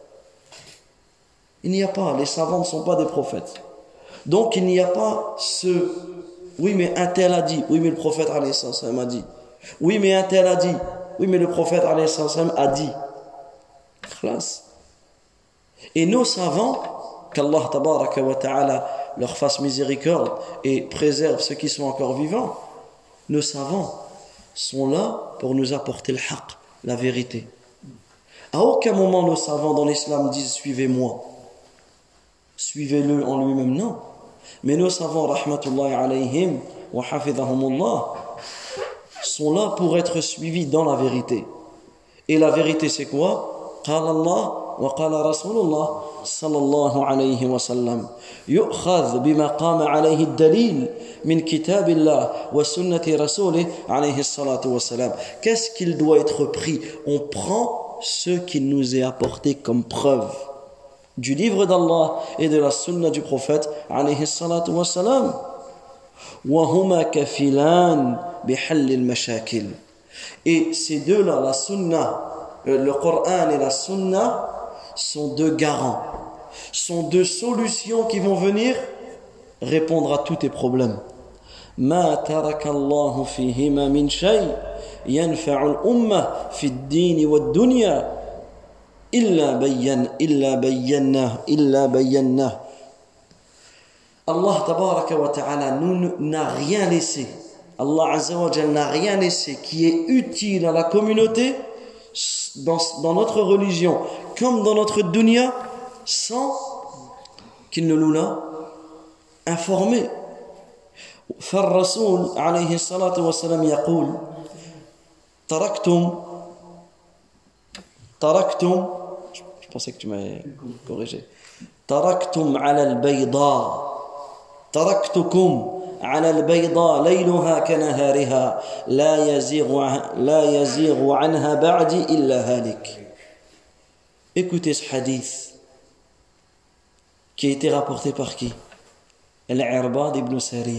Il n'y a pas, les savants ne sont pas des prophètes. Donc il n'y a pas oui mais un tel a dit, oui mais le prophète alayhi salam a dit, oui mais un tel a dit, oui mais le prophète alayhi salam a dit. Khlas. Et nos savants, qu'Allah tabaraka wa ta'ala leur fasse miséricorde et préserve ceux qui sont encore vivants, nos savants sont là pour nous apporter le haqq, la vérité. À aucun moment nos savants dans l'islam disent suivez-moi, suivez-le en lui-même, non. Mais nos savants, rahmatullahi alayhim wa hafidhahumullah, sont là pour être suivis dans la vérité. Et la vérité c'est quoi? Qala Allah wa qala Rasulullah sallallahu alayhi wa sallam. Yu'khadh bima qama alayhi ad-dalil min kitabillah wa sunnati rasulih alayhi salatu wa salam. Qu'est-ce qu'il doit être pris? On prend ce qu'il nous est apporté comme preuve du livre d'Allah et de la sunna du prophète alayhi salatu wa salam. Wa huma kafilan bihall al-mashakil. Et ces deux-là, la sunna, le Coran et la sunna, sont deux garants, sont deux solutions qui vont venir répondre à tous tes problèmes. Ma taraka Allah fihima min shay yanfa'u al-ummah fi ad-din wa ad-dunya illa bayyana. Allah tabaraka wa ta'ala n'a rien laissé. Allah azza wa jalla n'a rien laissé qui est utile à la communauté dans notre religion comme dans notre dunya sans qu'il ne nous l'a informé. فالرسول عليه الصلاة والسلام يقول تركتم je pensais que tu m'avais corrigé. تركتم على البيضاء تركتكم على البيضاء ليلها كنهارها لا يزيغ عنها بعدي إلا هالك. Écoutez ce hadith qui a été rapporté par qui? Al-Irbad ibn Sariya.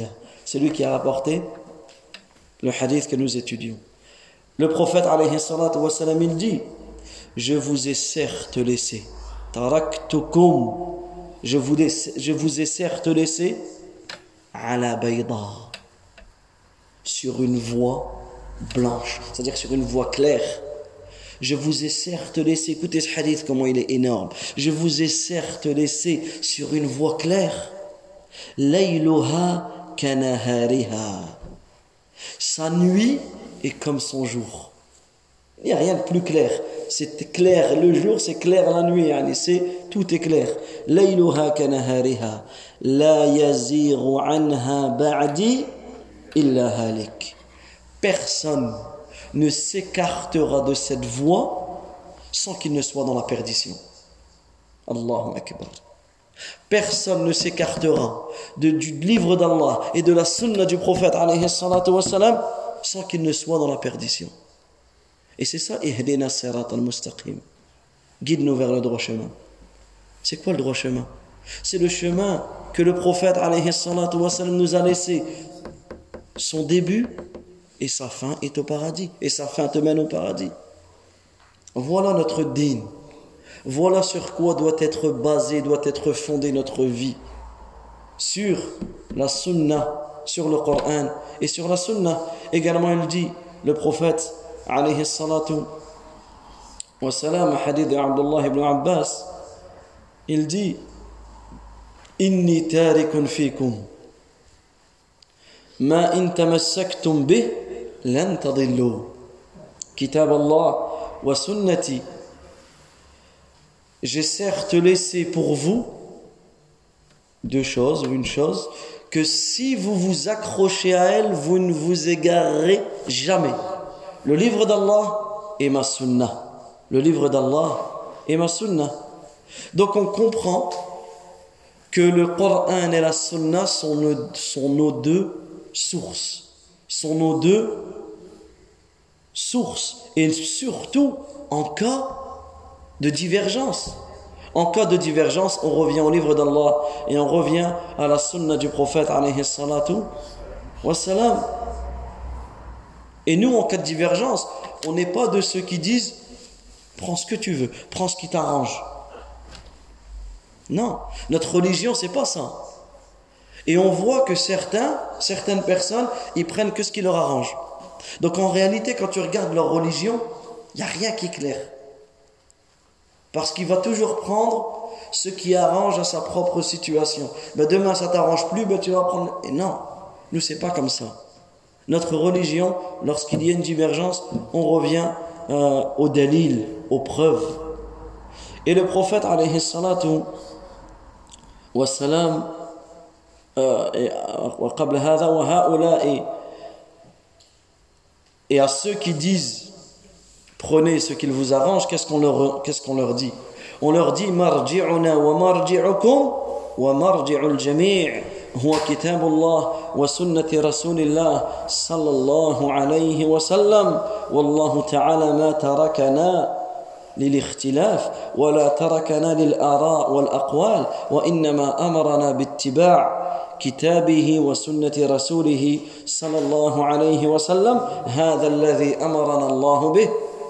C'est lui qui a rapporté le hadith que nous étudions. Le prophète alayhi salatu wa salam, il dit: je vous ai certes laissé, taraktukum, je vous ai certes laissé ala bayda, sur une voie blanche, c'est-à-dire sur une voie claire. Je vous ai certes laissé, écoutez ce hadith comment il est énorme, je vous ai certes laissé sur une voie claire, layluha kanahariha, sa nuit est comme son jour. Il n'y a rien de plus clair. C'est clair le jour, c'est clair la nuit. Tout est clair. Layluha kanahariha la yaziru anha ba'di illa halik. Personne ne s'écartera de cette voie sans qu'il ne soit dans la perdition. Allahu Akbar. Personne ne s'écartera du livre d'Allah et de la sunna du prophète alayhi salatu wa salam sans qu'il ne soit dans la perdition. Et c'est ça, ihdina sirat al-mustaqim. Guide-nous vers le droit chemin. C'est quoi le droit chemin? C'est le chemin que le prophète alayhi salatu wa salam nous a laissé. Son début et sa fin est au paradis. Et sa fin te mène au paradis. Voilà notre dîn. Voilà sur quoi doit être basée, doit être fondée notre vie. Sur la sunna, sur le Coran et sur la sunna. Également, il dit, le prophète alayhi salatu wa salam, hadith d'Abdullah ibn Abbas, il dit: inni tarikun fikum ma in tamassaktum bih lan tadillu kitab Allah wa sunnati. J'ai certes laissé pour vous deux choses, ou une chose, que si vous vous accrochez à elle, vous ne vous égarerez jamais. Le livre d'Allah et ma sunnah. Le livre d'Allah et ma sunnah. Donc on comprend que le Coran et la sunnah sont nos deux sources. Sont nos deux sources. Et surtout en cas de divergence. En cas de divergence, on revient au livre d'Allah et on revient à la sunna du prophète alayhi salatu wa salam. Et nous, en cas de divergence, on n'est pas de ceux qui disent prends ce que tu veux, prends ce qui t'arrange. Non, notre religion, c'est pas ça. Et on voit que certaines personnes, ils prennent que ce qui leur arrange. Donc en réalité, quand tu regardes leur religion, il n'y a rien qui est clair. Parce qu'il va toujours prendre ce qui arrange à sa propre situation. Ben demain, ça t'arrange plus, ben tu vas prendre... Et non, nous, c'est pas comme ça. Notre religion, lorsqu'il y a une divergence, on revient au dalil, aux preuves. Et le prophète, alayhi salatu wa salam, et à ceux qui disent prenez ce qu'il vous arrange, qu'est-ce qu'on leur dit? On leur dit marji'una wa marji'ukum wa marji'ul jami' huwa kitabullah wa sunnati rasulillah sallallahu alayhi wa sallam wallahu ta'ala ma tarakana للاختلاف ولا تركنا للآراء والأقوال وإنما أمرنا باتباع كتابه وسنة رسوله صلى الله عليه وسلم هذا الذي أمرنا الله به.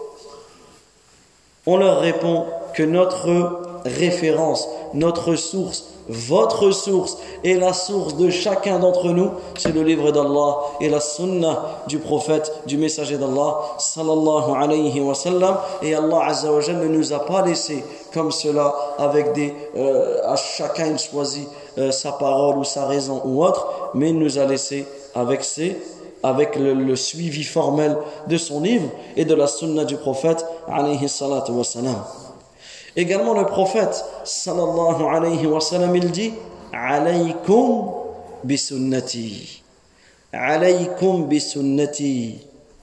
On leur répond que notre référence, notre source, votre source et la source de chacun d'entre nous, c'est le livre d'Allah et la sunna du prophète, du messager d'Allah sallallahu alayhi wa sallam. Et Allah azza wa jalla ne nous a pas laissé comme cela avec à chacun il choisit sa parole ou sa raison ou autre, mais il nous a laissé avec le suivi formel de son livre et de la sunna du prophète alayhi salatu wa salam. Également le prophète sallallahu alayhi wa sallam, il dit alaykum bi sunnati, alaykum bi sunnati.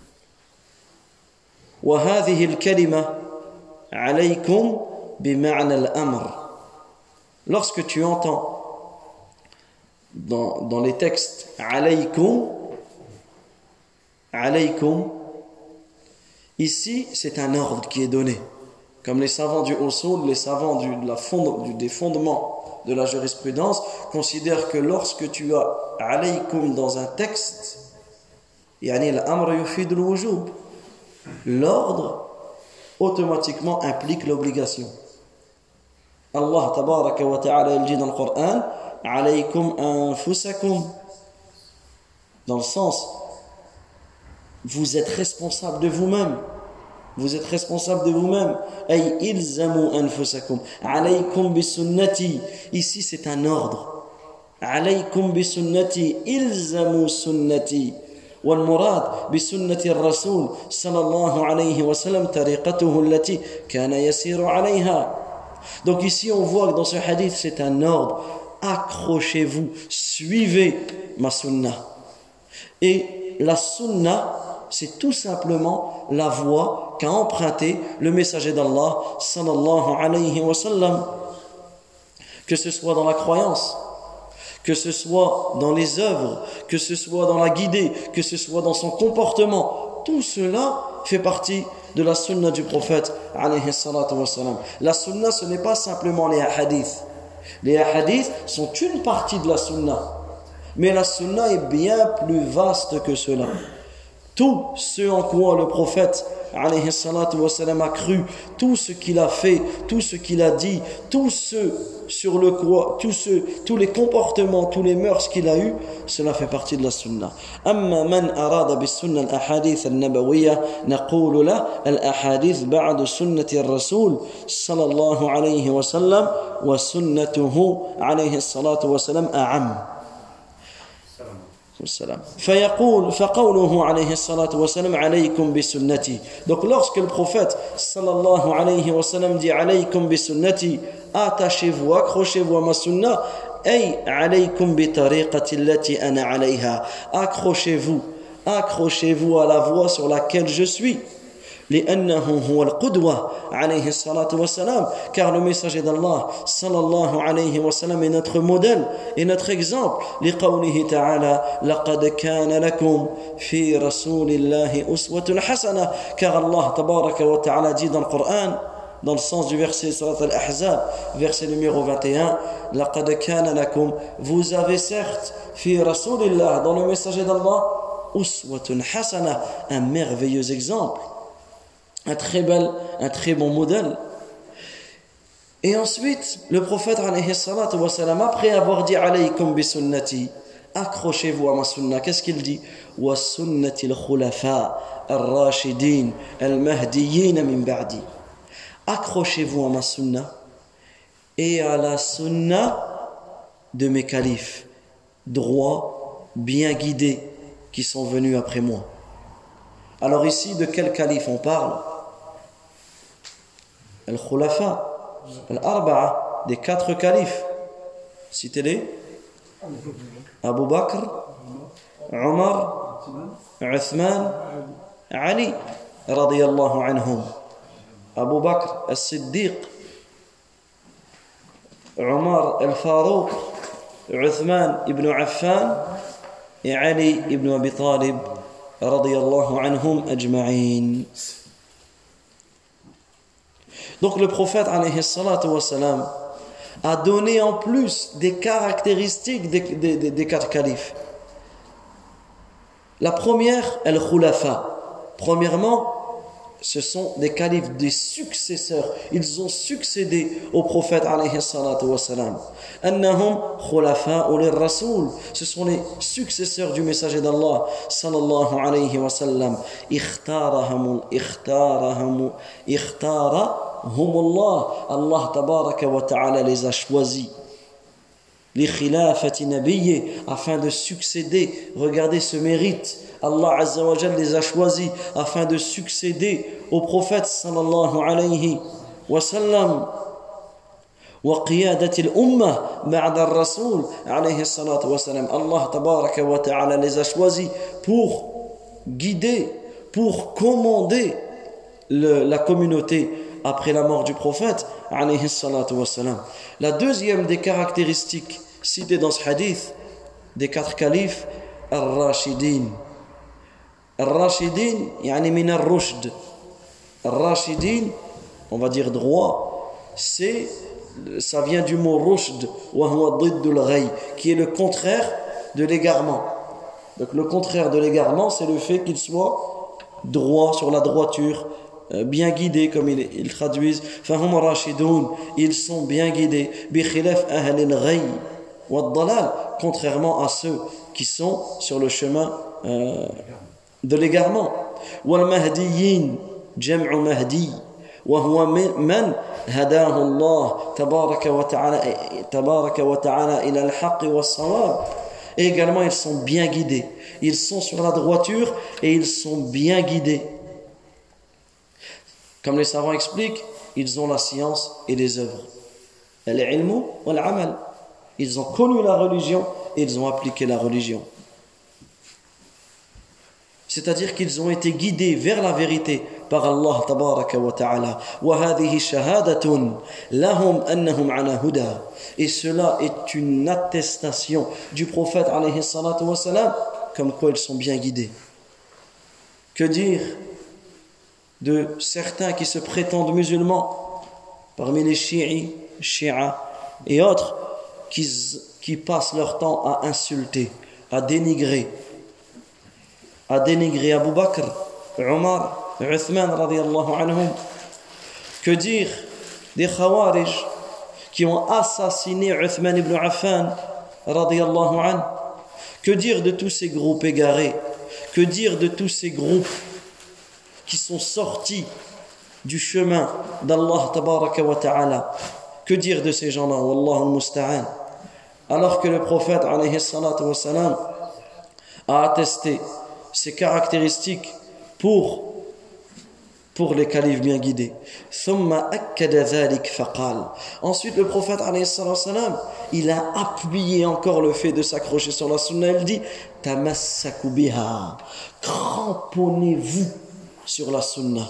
Wa hadhihi al-kalima alaykum bi ma'na al-amr. Lorsque tu entends dans les textes alaykum, ici c'est un ordre qui est donné. Comme les savants du usul, les savants des fondements de la jurisprudence considèrent que lorsque tu as alaykum dans un texte, yani l'amr yufid al-wujub, l'ordre automatiquement implique l'obligation. Allah tabaraka wa ta'ala il dit dans le Coran alaykum anfusakum, dans le sens vous êtes responsable de vous-même. Vous êtes responsable de vous-même. Ay ilzamu anfusakum. Alaykum bi sunnati. Ici, c'est un ordre. Alaykum bi sunnati. Ilzamu sunnati. والمراد بسنة الرسول صلى الله عليه وسلم طريقته التي كان يسير عليها. Donc ici, on voit que dans ce hadith, c'est un ordre. Accrochez-vous, suivez ma sunnah. Et la sunnah, c'est tout simplement la voie qu'a emprunté le messager d'Allah sallallahu alayhi wa sallam, que ce soit dans la croyance, que ce soit dans les œuvres, que ce soit dans la guidée, que ce soit dans son comportement, tout cela fait partie de la sunna du prophète alayhi salatu wa sallam. La sunna, ce n'est pas simplement les hadiths. Les hadiths sont une partie de la sunna, mais la sunna est bien plus vaste que cela. Tout ce en quoi le prophète alayhi salatu wa sallam a cru, tout ce qu'il a fait, tout ce qu'il a dit, tout ce sur le quoi, tous les comportements, tous les mœurs qu'il a eu, cela fait partie de la sunna. Amma man arada bis sunna al ahadith al nabawiyya naqulu la al ahadith ba'da sunnati ar rasul sallallahu alayhi wa sallam wa sunnatuhu alayhi salatu wa sallam a'am. فقوله عليه الصلاة والسلام عليكم بسنتي. Donc lorsque le prophète sallallahu alayhi wa sallam dit عليكم بسنتي, attachez-vous, accrochez-vous à ma sunna, أي عليكم بطريقة التي أنا عليها, accrochez-vous à la voie sur laquelle je suis. لأنه هو القدوة عليه الصلاة والسلام, car le messager d'Allah sallallahu alayhi wa sallam est notre modèle et notre exemple. لقوله تعالى لقد كان لكم في رسول الله أسوة حسنة, car Allah tabaraka wa ta'ala dit dans le Coran, dans le sens du verset Surat Al-Ahzab, verset numéro 21, لقد كان لكم, vous avez certes في رسول الله, dans le messager d'Allah, أسوة حسنة, un merveilleux exemple, un très bon modèle. Et ensuite, le prophète alayhi salatu wa salam, après avoir dit alaykum bi sunnati, accrochez-vous à ma sunna, qu'est-ce qu'il dit? Wa sunnati al-khulafa al-rashidin al-mahdiyyin min ba'di. Accrochez-vous à ma sunna et à la sunna de mes califes droits, bien guidés, qui sont venus après moi. Alors ici, de quel calife on parle? Al-Khulafa, Al-Arba'a, des 4 califes. Citez-les. Abu Bakr, Omar, Uthman, Ali, radiyallahu anhum. Abu Bakr al-Siddiq, Omar al-Farouq, Uthman ibn Affan et Ali ibn Abi Talib, radiyallahu anhum ajma'in. Donc le prophète alayhi salatu wa salam a donné en plus des caractéristiques des 4 califes. La première, al-khulafa. Premièrement, ce sont des califes, des successeurs. Ils ont succédé au prophète alayhi salatu wa salam. Annahum khulafa'u lir-rasul. Ce sont les successeurs du messager d'Allah sallallahu alayhi wa sallam. Ikhtarahum Allah. Allah tabaraka wa ta'ala les a choisis. Li khilafati nabiyyi, afin de succéder. Regardez ce mérite. Allah Azza wa Jalla les a choisis afin de succéder au prophète sallallahu alayhi wa sallam. Wa qiyadati al-ummah ba'da ar-rasul alayhi salatu wa salam. Allah tabaraka wa ta'ala les a choisis pour guider, pour commander la communauté après la mort du prophète alayhi salatu wa salam. La deuxième des caractéristiques citées dans ce hadith des 4 califes, ar-rashidin. الراشدين يعني من الرشد. الراشدين on va dire droit, ça vient du mot rushd, wa huwa diddul ghayy, qui est le contraire de l'égarement. Donc le contraire de l'égarement, c'est le fait qu'il soit droit, sur la droiture, bien guidés, comme ils traduisent. Fahum rashidun, ils sont bien guidés. Bi khilaf ahli al-ghayy wa ad-dalal, contrairement à ceux qui sont sur le chemin de l'égarement. Wal mahdiyyin, jam'u mahdi, wa huwa man hadahu Allah tabaraka wa ta'ala ila al-haqq wa as-sawab. Et également, ils sont bien guidés. Ils sont sur la droiture et ils sont bien guidés. Comme les savants expliquent, ils ont la science et les œuvres. Al-ilmu wal-amal. Ils ont connu la religion et ils ont appliqué la religion. C'est-à-dire qu'ils ont été guidés vers la vérité par Allah tabaraka wa ta'ala. Wa hadhihi shahadatun lahum annahum ala huda. Et cela est une attestation du prophète alayhi salatu wa salam, comme quoi ils sont bien guidés. Que dire de certains qui se prétendent musulmans, parmi les chiites et autres, qui passent leur temps à insulter, à dénigrer Abu Bakr, Omar, Uthman radiyallahu anhum. Que dire des Khawarij qui ont assassiné Uthman ibn Affan radiyallahu anhu? Que dire de tous ces groupes égarés? Que dire de tous ces groupes qui sont sortis du chemin d'Allah tabaraka wa ta'ala? Que dire de ces gens-là? Wallahu al-musta'an. Alors que le prophète alayhi salatu wa salam a attesté ces caractéristiques pour les califes bien guidés. Ensuite, le prophète alayhi salatu wa salam, il a appuyé encore le fait de s'accrocher sur la sunna. Il dit tamassaku biha, cramponnez-vous sur la sunna.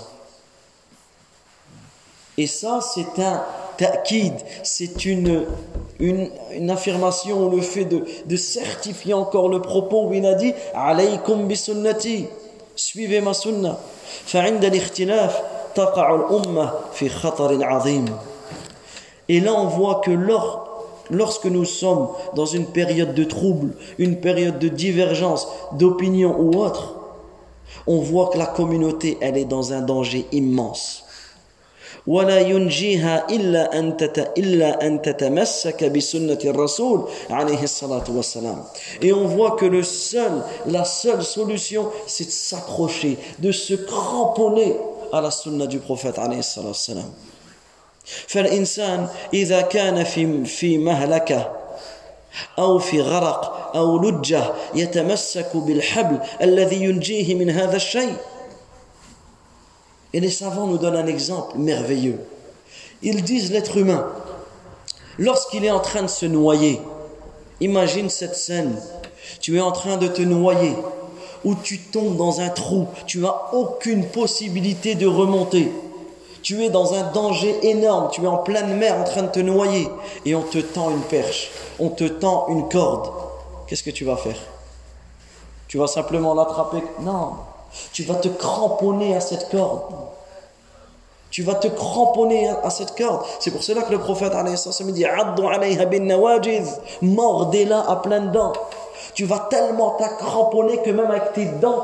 Et ça, c'est un ta'kid, c'est une affirmation ou le fait de certifier encore le propos où il a dit alaykum bi sunnati, suivez ma sunna. فعند الاختلاف تقع الأمة في خطر عظيم. Et là on voit que lorsque nous sommes dans une période de trouble, une période de divergence d'opinion ou autre, on voit que la communauté elle est dans un danger immense. ولا ينجيها إلا أن تتمسك بسنة الرسول عليه الصلاة والسلام. Et on voit que la seule solution, c'est de s'accrocher, de se cramponner à la sunna du prophète عليه الصلاة والسلام. فالإنسان إذا كان في مهلكة أو في غرق أو لجة يتمسك بالحبل الذي ينجيه من هذا الشيء. Et les savants nous donnent un exemple merveilleux. Ils disent l'être humain, lorsqu'il est en train de se noyer, imagine cette scène, tu es en train de te noyer, ou tu tombes dans un trou, tu n'as aucune possibilité de remonter, tu es dans un danger énorme, tu es en pleine mer en train de te noyer, et on te tend une perche, on te tend une corde. Qu'est-ce que tu vas faire? Tu vas simplement l'attraper? Non. Tu vas te cramponner à cette corde. Tu vas te cramponner à cette corde. C'est pour cela que le prophète dit Addu alayha bin nawajiz, mordez-la à pleines dents. Tu vas tellement t'accramponner que même avec tes dents,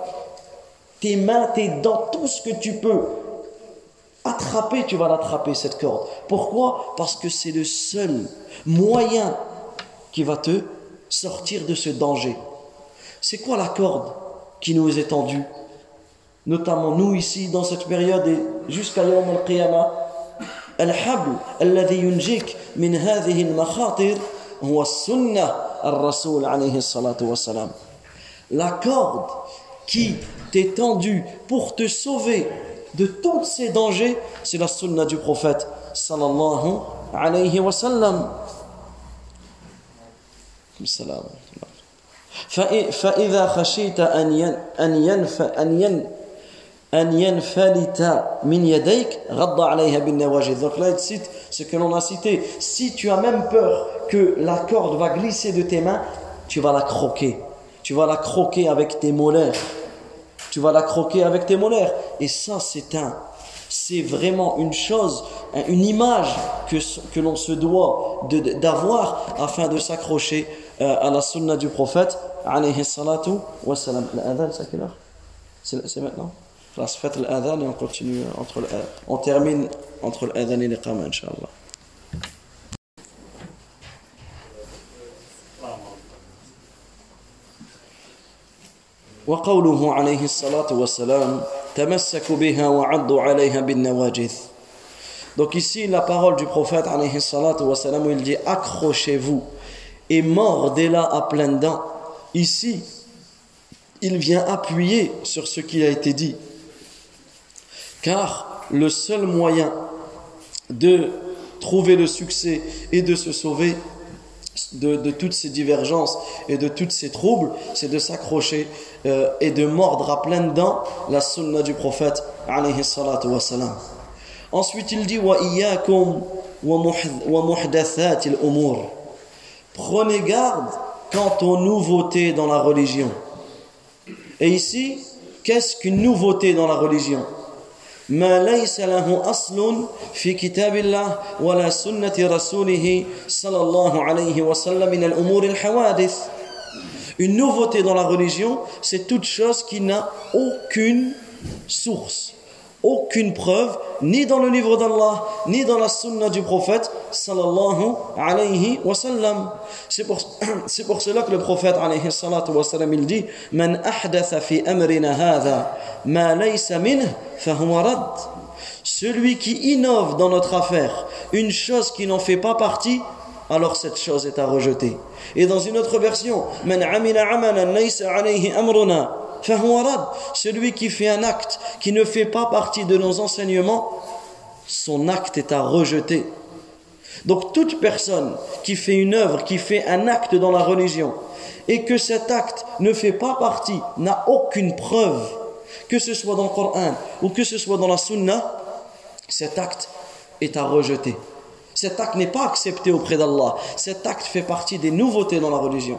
tes mains, tes dents, tout ce que tu peux attraper, tu vas l'attraper cette corde. Pourquoi? Parce que c'est le seul moyen qui va te sortir de ce danger. C'est quoi la corde qui nous est tendu, notamment nous ici dans cette période et jusqu'à Yawm al-Qiyamah? Al-habl alladhi yunjik min hadhihi al-makhatir huwa sunnah ar-rasul alayhi salatu wa salam. La corde qui t'est tendue pour te sauver de tous ces dangers, c'est la sunna du prophète sallallahu alayhi wa sallam. Salam. فإذا خشيت أن ينفلت من يديك غض عليها بالنواجذ. Donc là il cite ce que l'on a cité. Si tu as même peur que la corde va glisser de tes mains, tu vas la croquer. Tu vas la croquer avec tes molaires. Tu vas la croquer avec tes molaires. Et ça c'est C'est vraiment une chose, une image que l'on se doit d'avoir afin de s'accrocher à la sunna du prophète alayhi salatu wa salam. L'adhan, c'est à quelle heure? C'est maintenant? Là, faites l'adhan et on continue on termine entre l'adhan et l'iqama, Inch'Allah. وقوله عليه الصلاة والسلام تمسكوا بها وعضوا عليها بالنواجذ. Donc ici la parole du prophète alayhi salatu wa salam où il dit accrochez-vous et mordez-la à pleines dents. Ici il vient appuyer sur ce qui a été dit, car le seul moyen de trouver le succès et de se sauver de toutes ces divergences et de tous ces troubles, c'est de s'accrocher et de mordre à pleines dents la sunna du prophète alayhi salatu wa salam. Ensuite il dit wa iyyakum wa muhdathati al-umur. Prenez garde quant aux nouveautés dans la religion. Et ici, qu'est-ce qu'une nouveauté dans la religion? ما ليس له أصل في كتاب الله ولا سنة رسوله صلى الله عليه وسلم من الأمور الحوادث. Une nouveauté dans la religion, c'est toute chose qui n'a aucune source, aucune preuve, ni dans le livre d'Allah, ni dans la sunna du prophète sallallahu alayhi wa sallam. C'est pour cela que le prophète alayhi salatu wa sallam il dit Man ahdatha fi amrina hadha ma laysa minhu fahuwa rad. Celui qui innove dans notre affaire une chose qui n'en fait pas partie, alors cette chose est à rejeter. Et dans une autre version Man amila amalan laysa alayhi amruna fahuwa rad. Celui qui fait un acte qui ne fait pas partie de nos enseignements, son acte est à rejeter. Donc toute personne qui fait une œuvre, qui fait un acte dans la religion et que cet acte ne fait pas partie, n'a aucune preuve, que ce soit dans le Coran ou que ce soit dans la Sunna, cet acte est à rejeter. Cet acte n'est pas accepté auprès d'Allah. Cet acte fait partie des nouveautés dans la religion.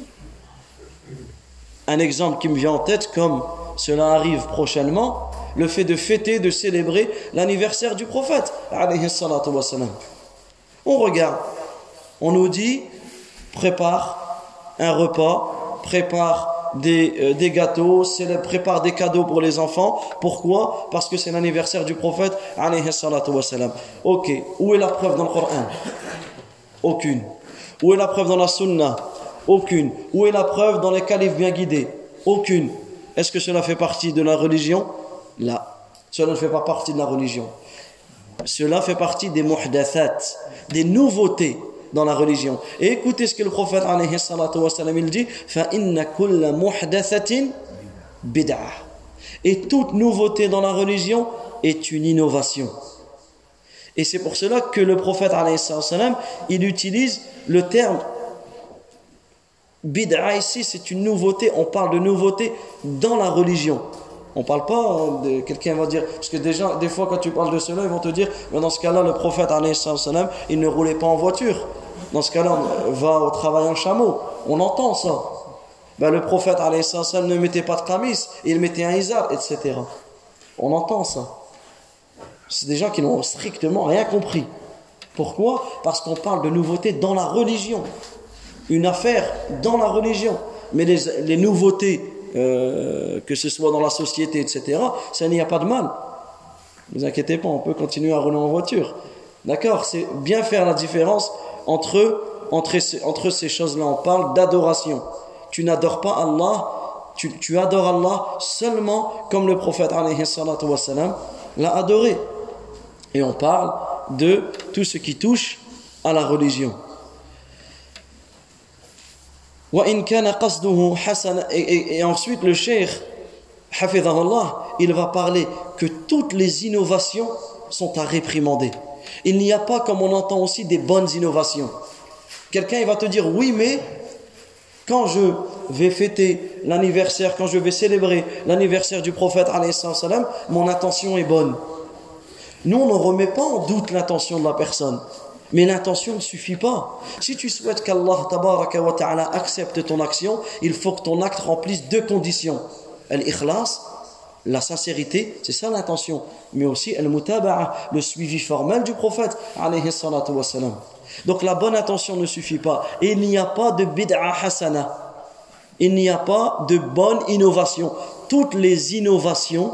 Un exemple qui me vient en tête, comme cela arrive prochainement, le fait de fêter, de célébrer l'anniversaire du prophète alayhi salatu wa salam. On regarde, on nous dit prépare un repas, prépare des gâteaux, prépare des cadeaux pour les enfants. Pourquoi? Parce que c'est l'anniversaire du prophète alayhi salatu wa salam. Ok, où est la preuve dans le Coran? Aucune. Où est la preuve dans la Sunna? Aucune. Où est la preuve dans les califes bien guidés? Aucune. Est-ce que cela fait partie de la religion? Là. Cela ne fait pas partie de la religion. Cela fait partie des muhdathat, des nouveautés dans la religion. Et écoutez ce que le prophète alayhi salatu wa salam il dit fa inna kulla muhdathatin bid'ah. Et toute nouveauté dans la religion est une innovation. Et c'est pour cela que le prophète alayhi salatu wa salam il utilise le terme bid'a. Ici c'est une nouveauté, on parle de nouveauté dans la religion. On ne parle pas de quelqu'un va dire, parce que déjà, des fois quand tu parles de cela, ils vont te dire, mais dans ce cas-là, le prophète alayhi salam, il ne roulait pas en voiture. Dans ce cas-là, on va au travail en chameau. On entend ça. Ben, le prophète alayhi salam ne mettait pas de qamis, il mettait un izar, etc. On entend ça. C'est des gens qui n'ont strictement rien compris. Pourquoi? Parce qu'on parle de nouveautés dans la religion. Une affaire dans la religion. Mais les nouveautés, que ce soit dans la société, etc., ça n'y a pas de mal. Ne vous inquiétez pas, on peut continuer à rouler en voiture. D'accord? C'est bien faire la différence entre ces choses-là. On parle d'adoration. Tu n'adores pas Allah, tu adores Allah seulement comme le prophète alayhi salatu wa salam l'a adoré. Et on parle de tout ce qui touche à la religion. Et ensuite le cheikh hafidhahullah, il va parler que toutes les innovations sont à réprimander. Il n'y a pas, comme on entend aussi, des bonnes innovations. Quelqu'un il va te dire oui, mais quand je vais fêter l'anniversaire, quand je vais célébrer l'anniversaire du prophète alayhi salam, mon intention est bonne. Nous on ne remet pas en doute l'intention de la personne. Mais l'intention ne suffit pas. Si tu souhaites qu'Allah tabaraka wa ta'ala accepte ton action, il faut que ton acte remplisse deux conditions. Al-ikhlas La sincérité, c'est ça l'intention, mais aussi al-mutaba'a, le suivi formel du prophète alayhi salatu wassalam. Donc la bonne intention ne suffit pas. Et il n'y a pas de bid'a hasana. Il n'y a pas de bonne innovation. Toutes les innovations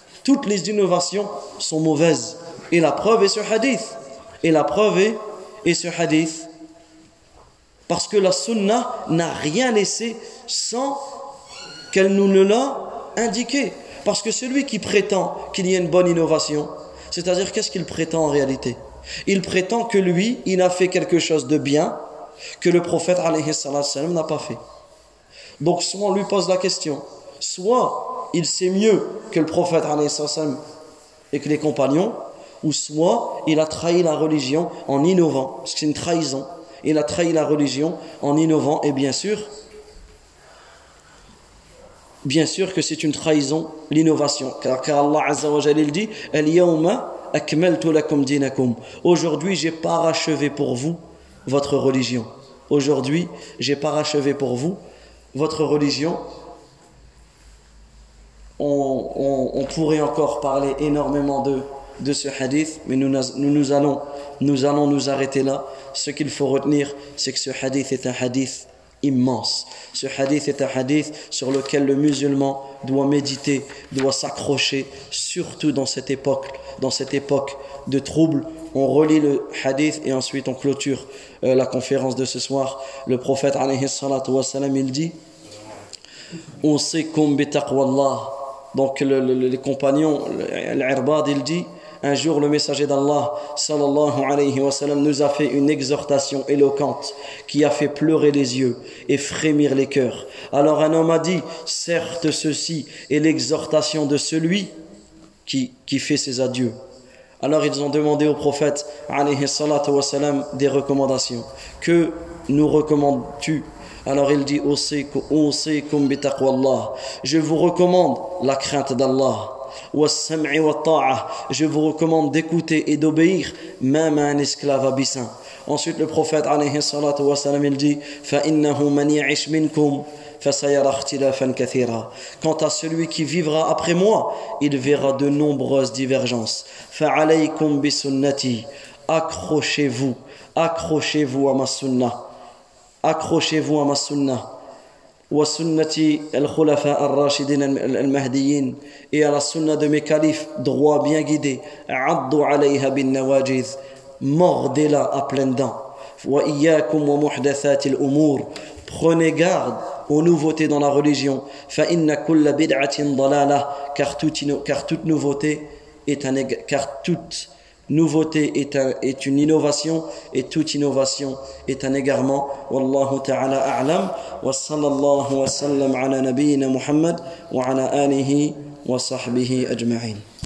sont mauvaises. Et la preuve est ce hadith. Et ce hadith. Parce que la sunna n'a rien laissé sans qu'elle nous ne l'a indiqué. Parce que celui qui prétend qu'il y a une bonne innovation, c'est-à-dire qu'est-ce qu'il prétend en réalité? Il prétend que lui, il a fait quelque chose de bien que le prophète alayhi salam n'a pas fait. Donc soit on lui pose la question, soit il sait mieux que le prophète alayhi salam et que les compagnons, ou soit il a trahi la religion en innovant, parce que c'est une trahison. Il a trahi la religion en innovant, et bien sûr que c'est une trahison, l'innovation. Car Allah Azza wa Jalla dit Al-yawma akmaltu lakum dinakum. Aujourd'hui, j'ai parachevé pour vous votre religion. Aujourd'hui, j'ai parachevé pour vous votre religion. On pourrait encore parler énormément de ce hadith, mais nous allons nous arrêter là. Ce qu'il faut retenir, c'est que ce hadith est un hadith immense. Ce hadith est un hadith sur lequel le musulman doit méditer, doit s'accrocher, surtout dans cette époque de trouble. On relit le hadith et ensuite on clôture la conférence de ce soir. Le prophète alayhi salatu wassalam, il dit Usikum bi taqwallah. Donc les compagnons, l'Irbad, il dit un jour, le messager d'Allah, sallallahu alayhi wa sallam, nous a fait une exhortation éloquente qui a fait pleurer les yeux et frémir les cœurs. Alors un homme a dit, certes ceci est l'exhortation de celui qui fait ses adieux. Alors ils ont demandé au prophète, alayhi salatu wa sallam, des recommandations. Que nous recommandes-tu? Alors il dit, Usikum bi taqwallah. Je vous recommande la crainte d'Allah. Je vous recommande d'écouter et d'obéir même à un esclave abyssin. Ensuite le prophète alayhi salatu wa sallam, il dit فَإِنَّهُ مَنْ يَعِشْ مِنْكُمْ فَسَيَرَى اخْتِلَافًا كَثِيرًا. Quant à celui qui vivra après moi, il verra de nombreuses divergences. فَعَلَيْكُمْ بِسُنَّتِي. Accrochez-vous à ma sunnah. Accrochez-vous à ma sunnah. وسنة الخلفاء الراشدين المهديين et à la sunna de mes califes droits bien guidés. عضوا عليها بالنواجذ. Mordez-la à pleines dents. وإياكم ومحدثات الأمور. Prenez garde aux nouveautés dans la religion. فإن كل بدعة ضلالة. Car toute nouveauté est une innovation et toute innovation est un égarement. Wallahu ta'ala a'lam wa sallallahu wa sallam ala nabiyyina Muhammad wa ala alihi wa sahbihi ajma'in.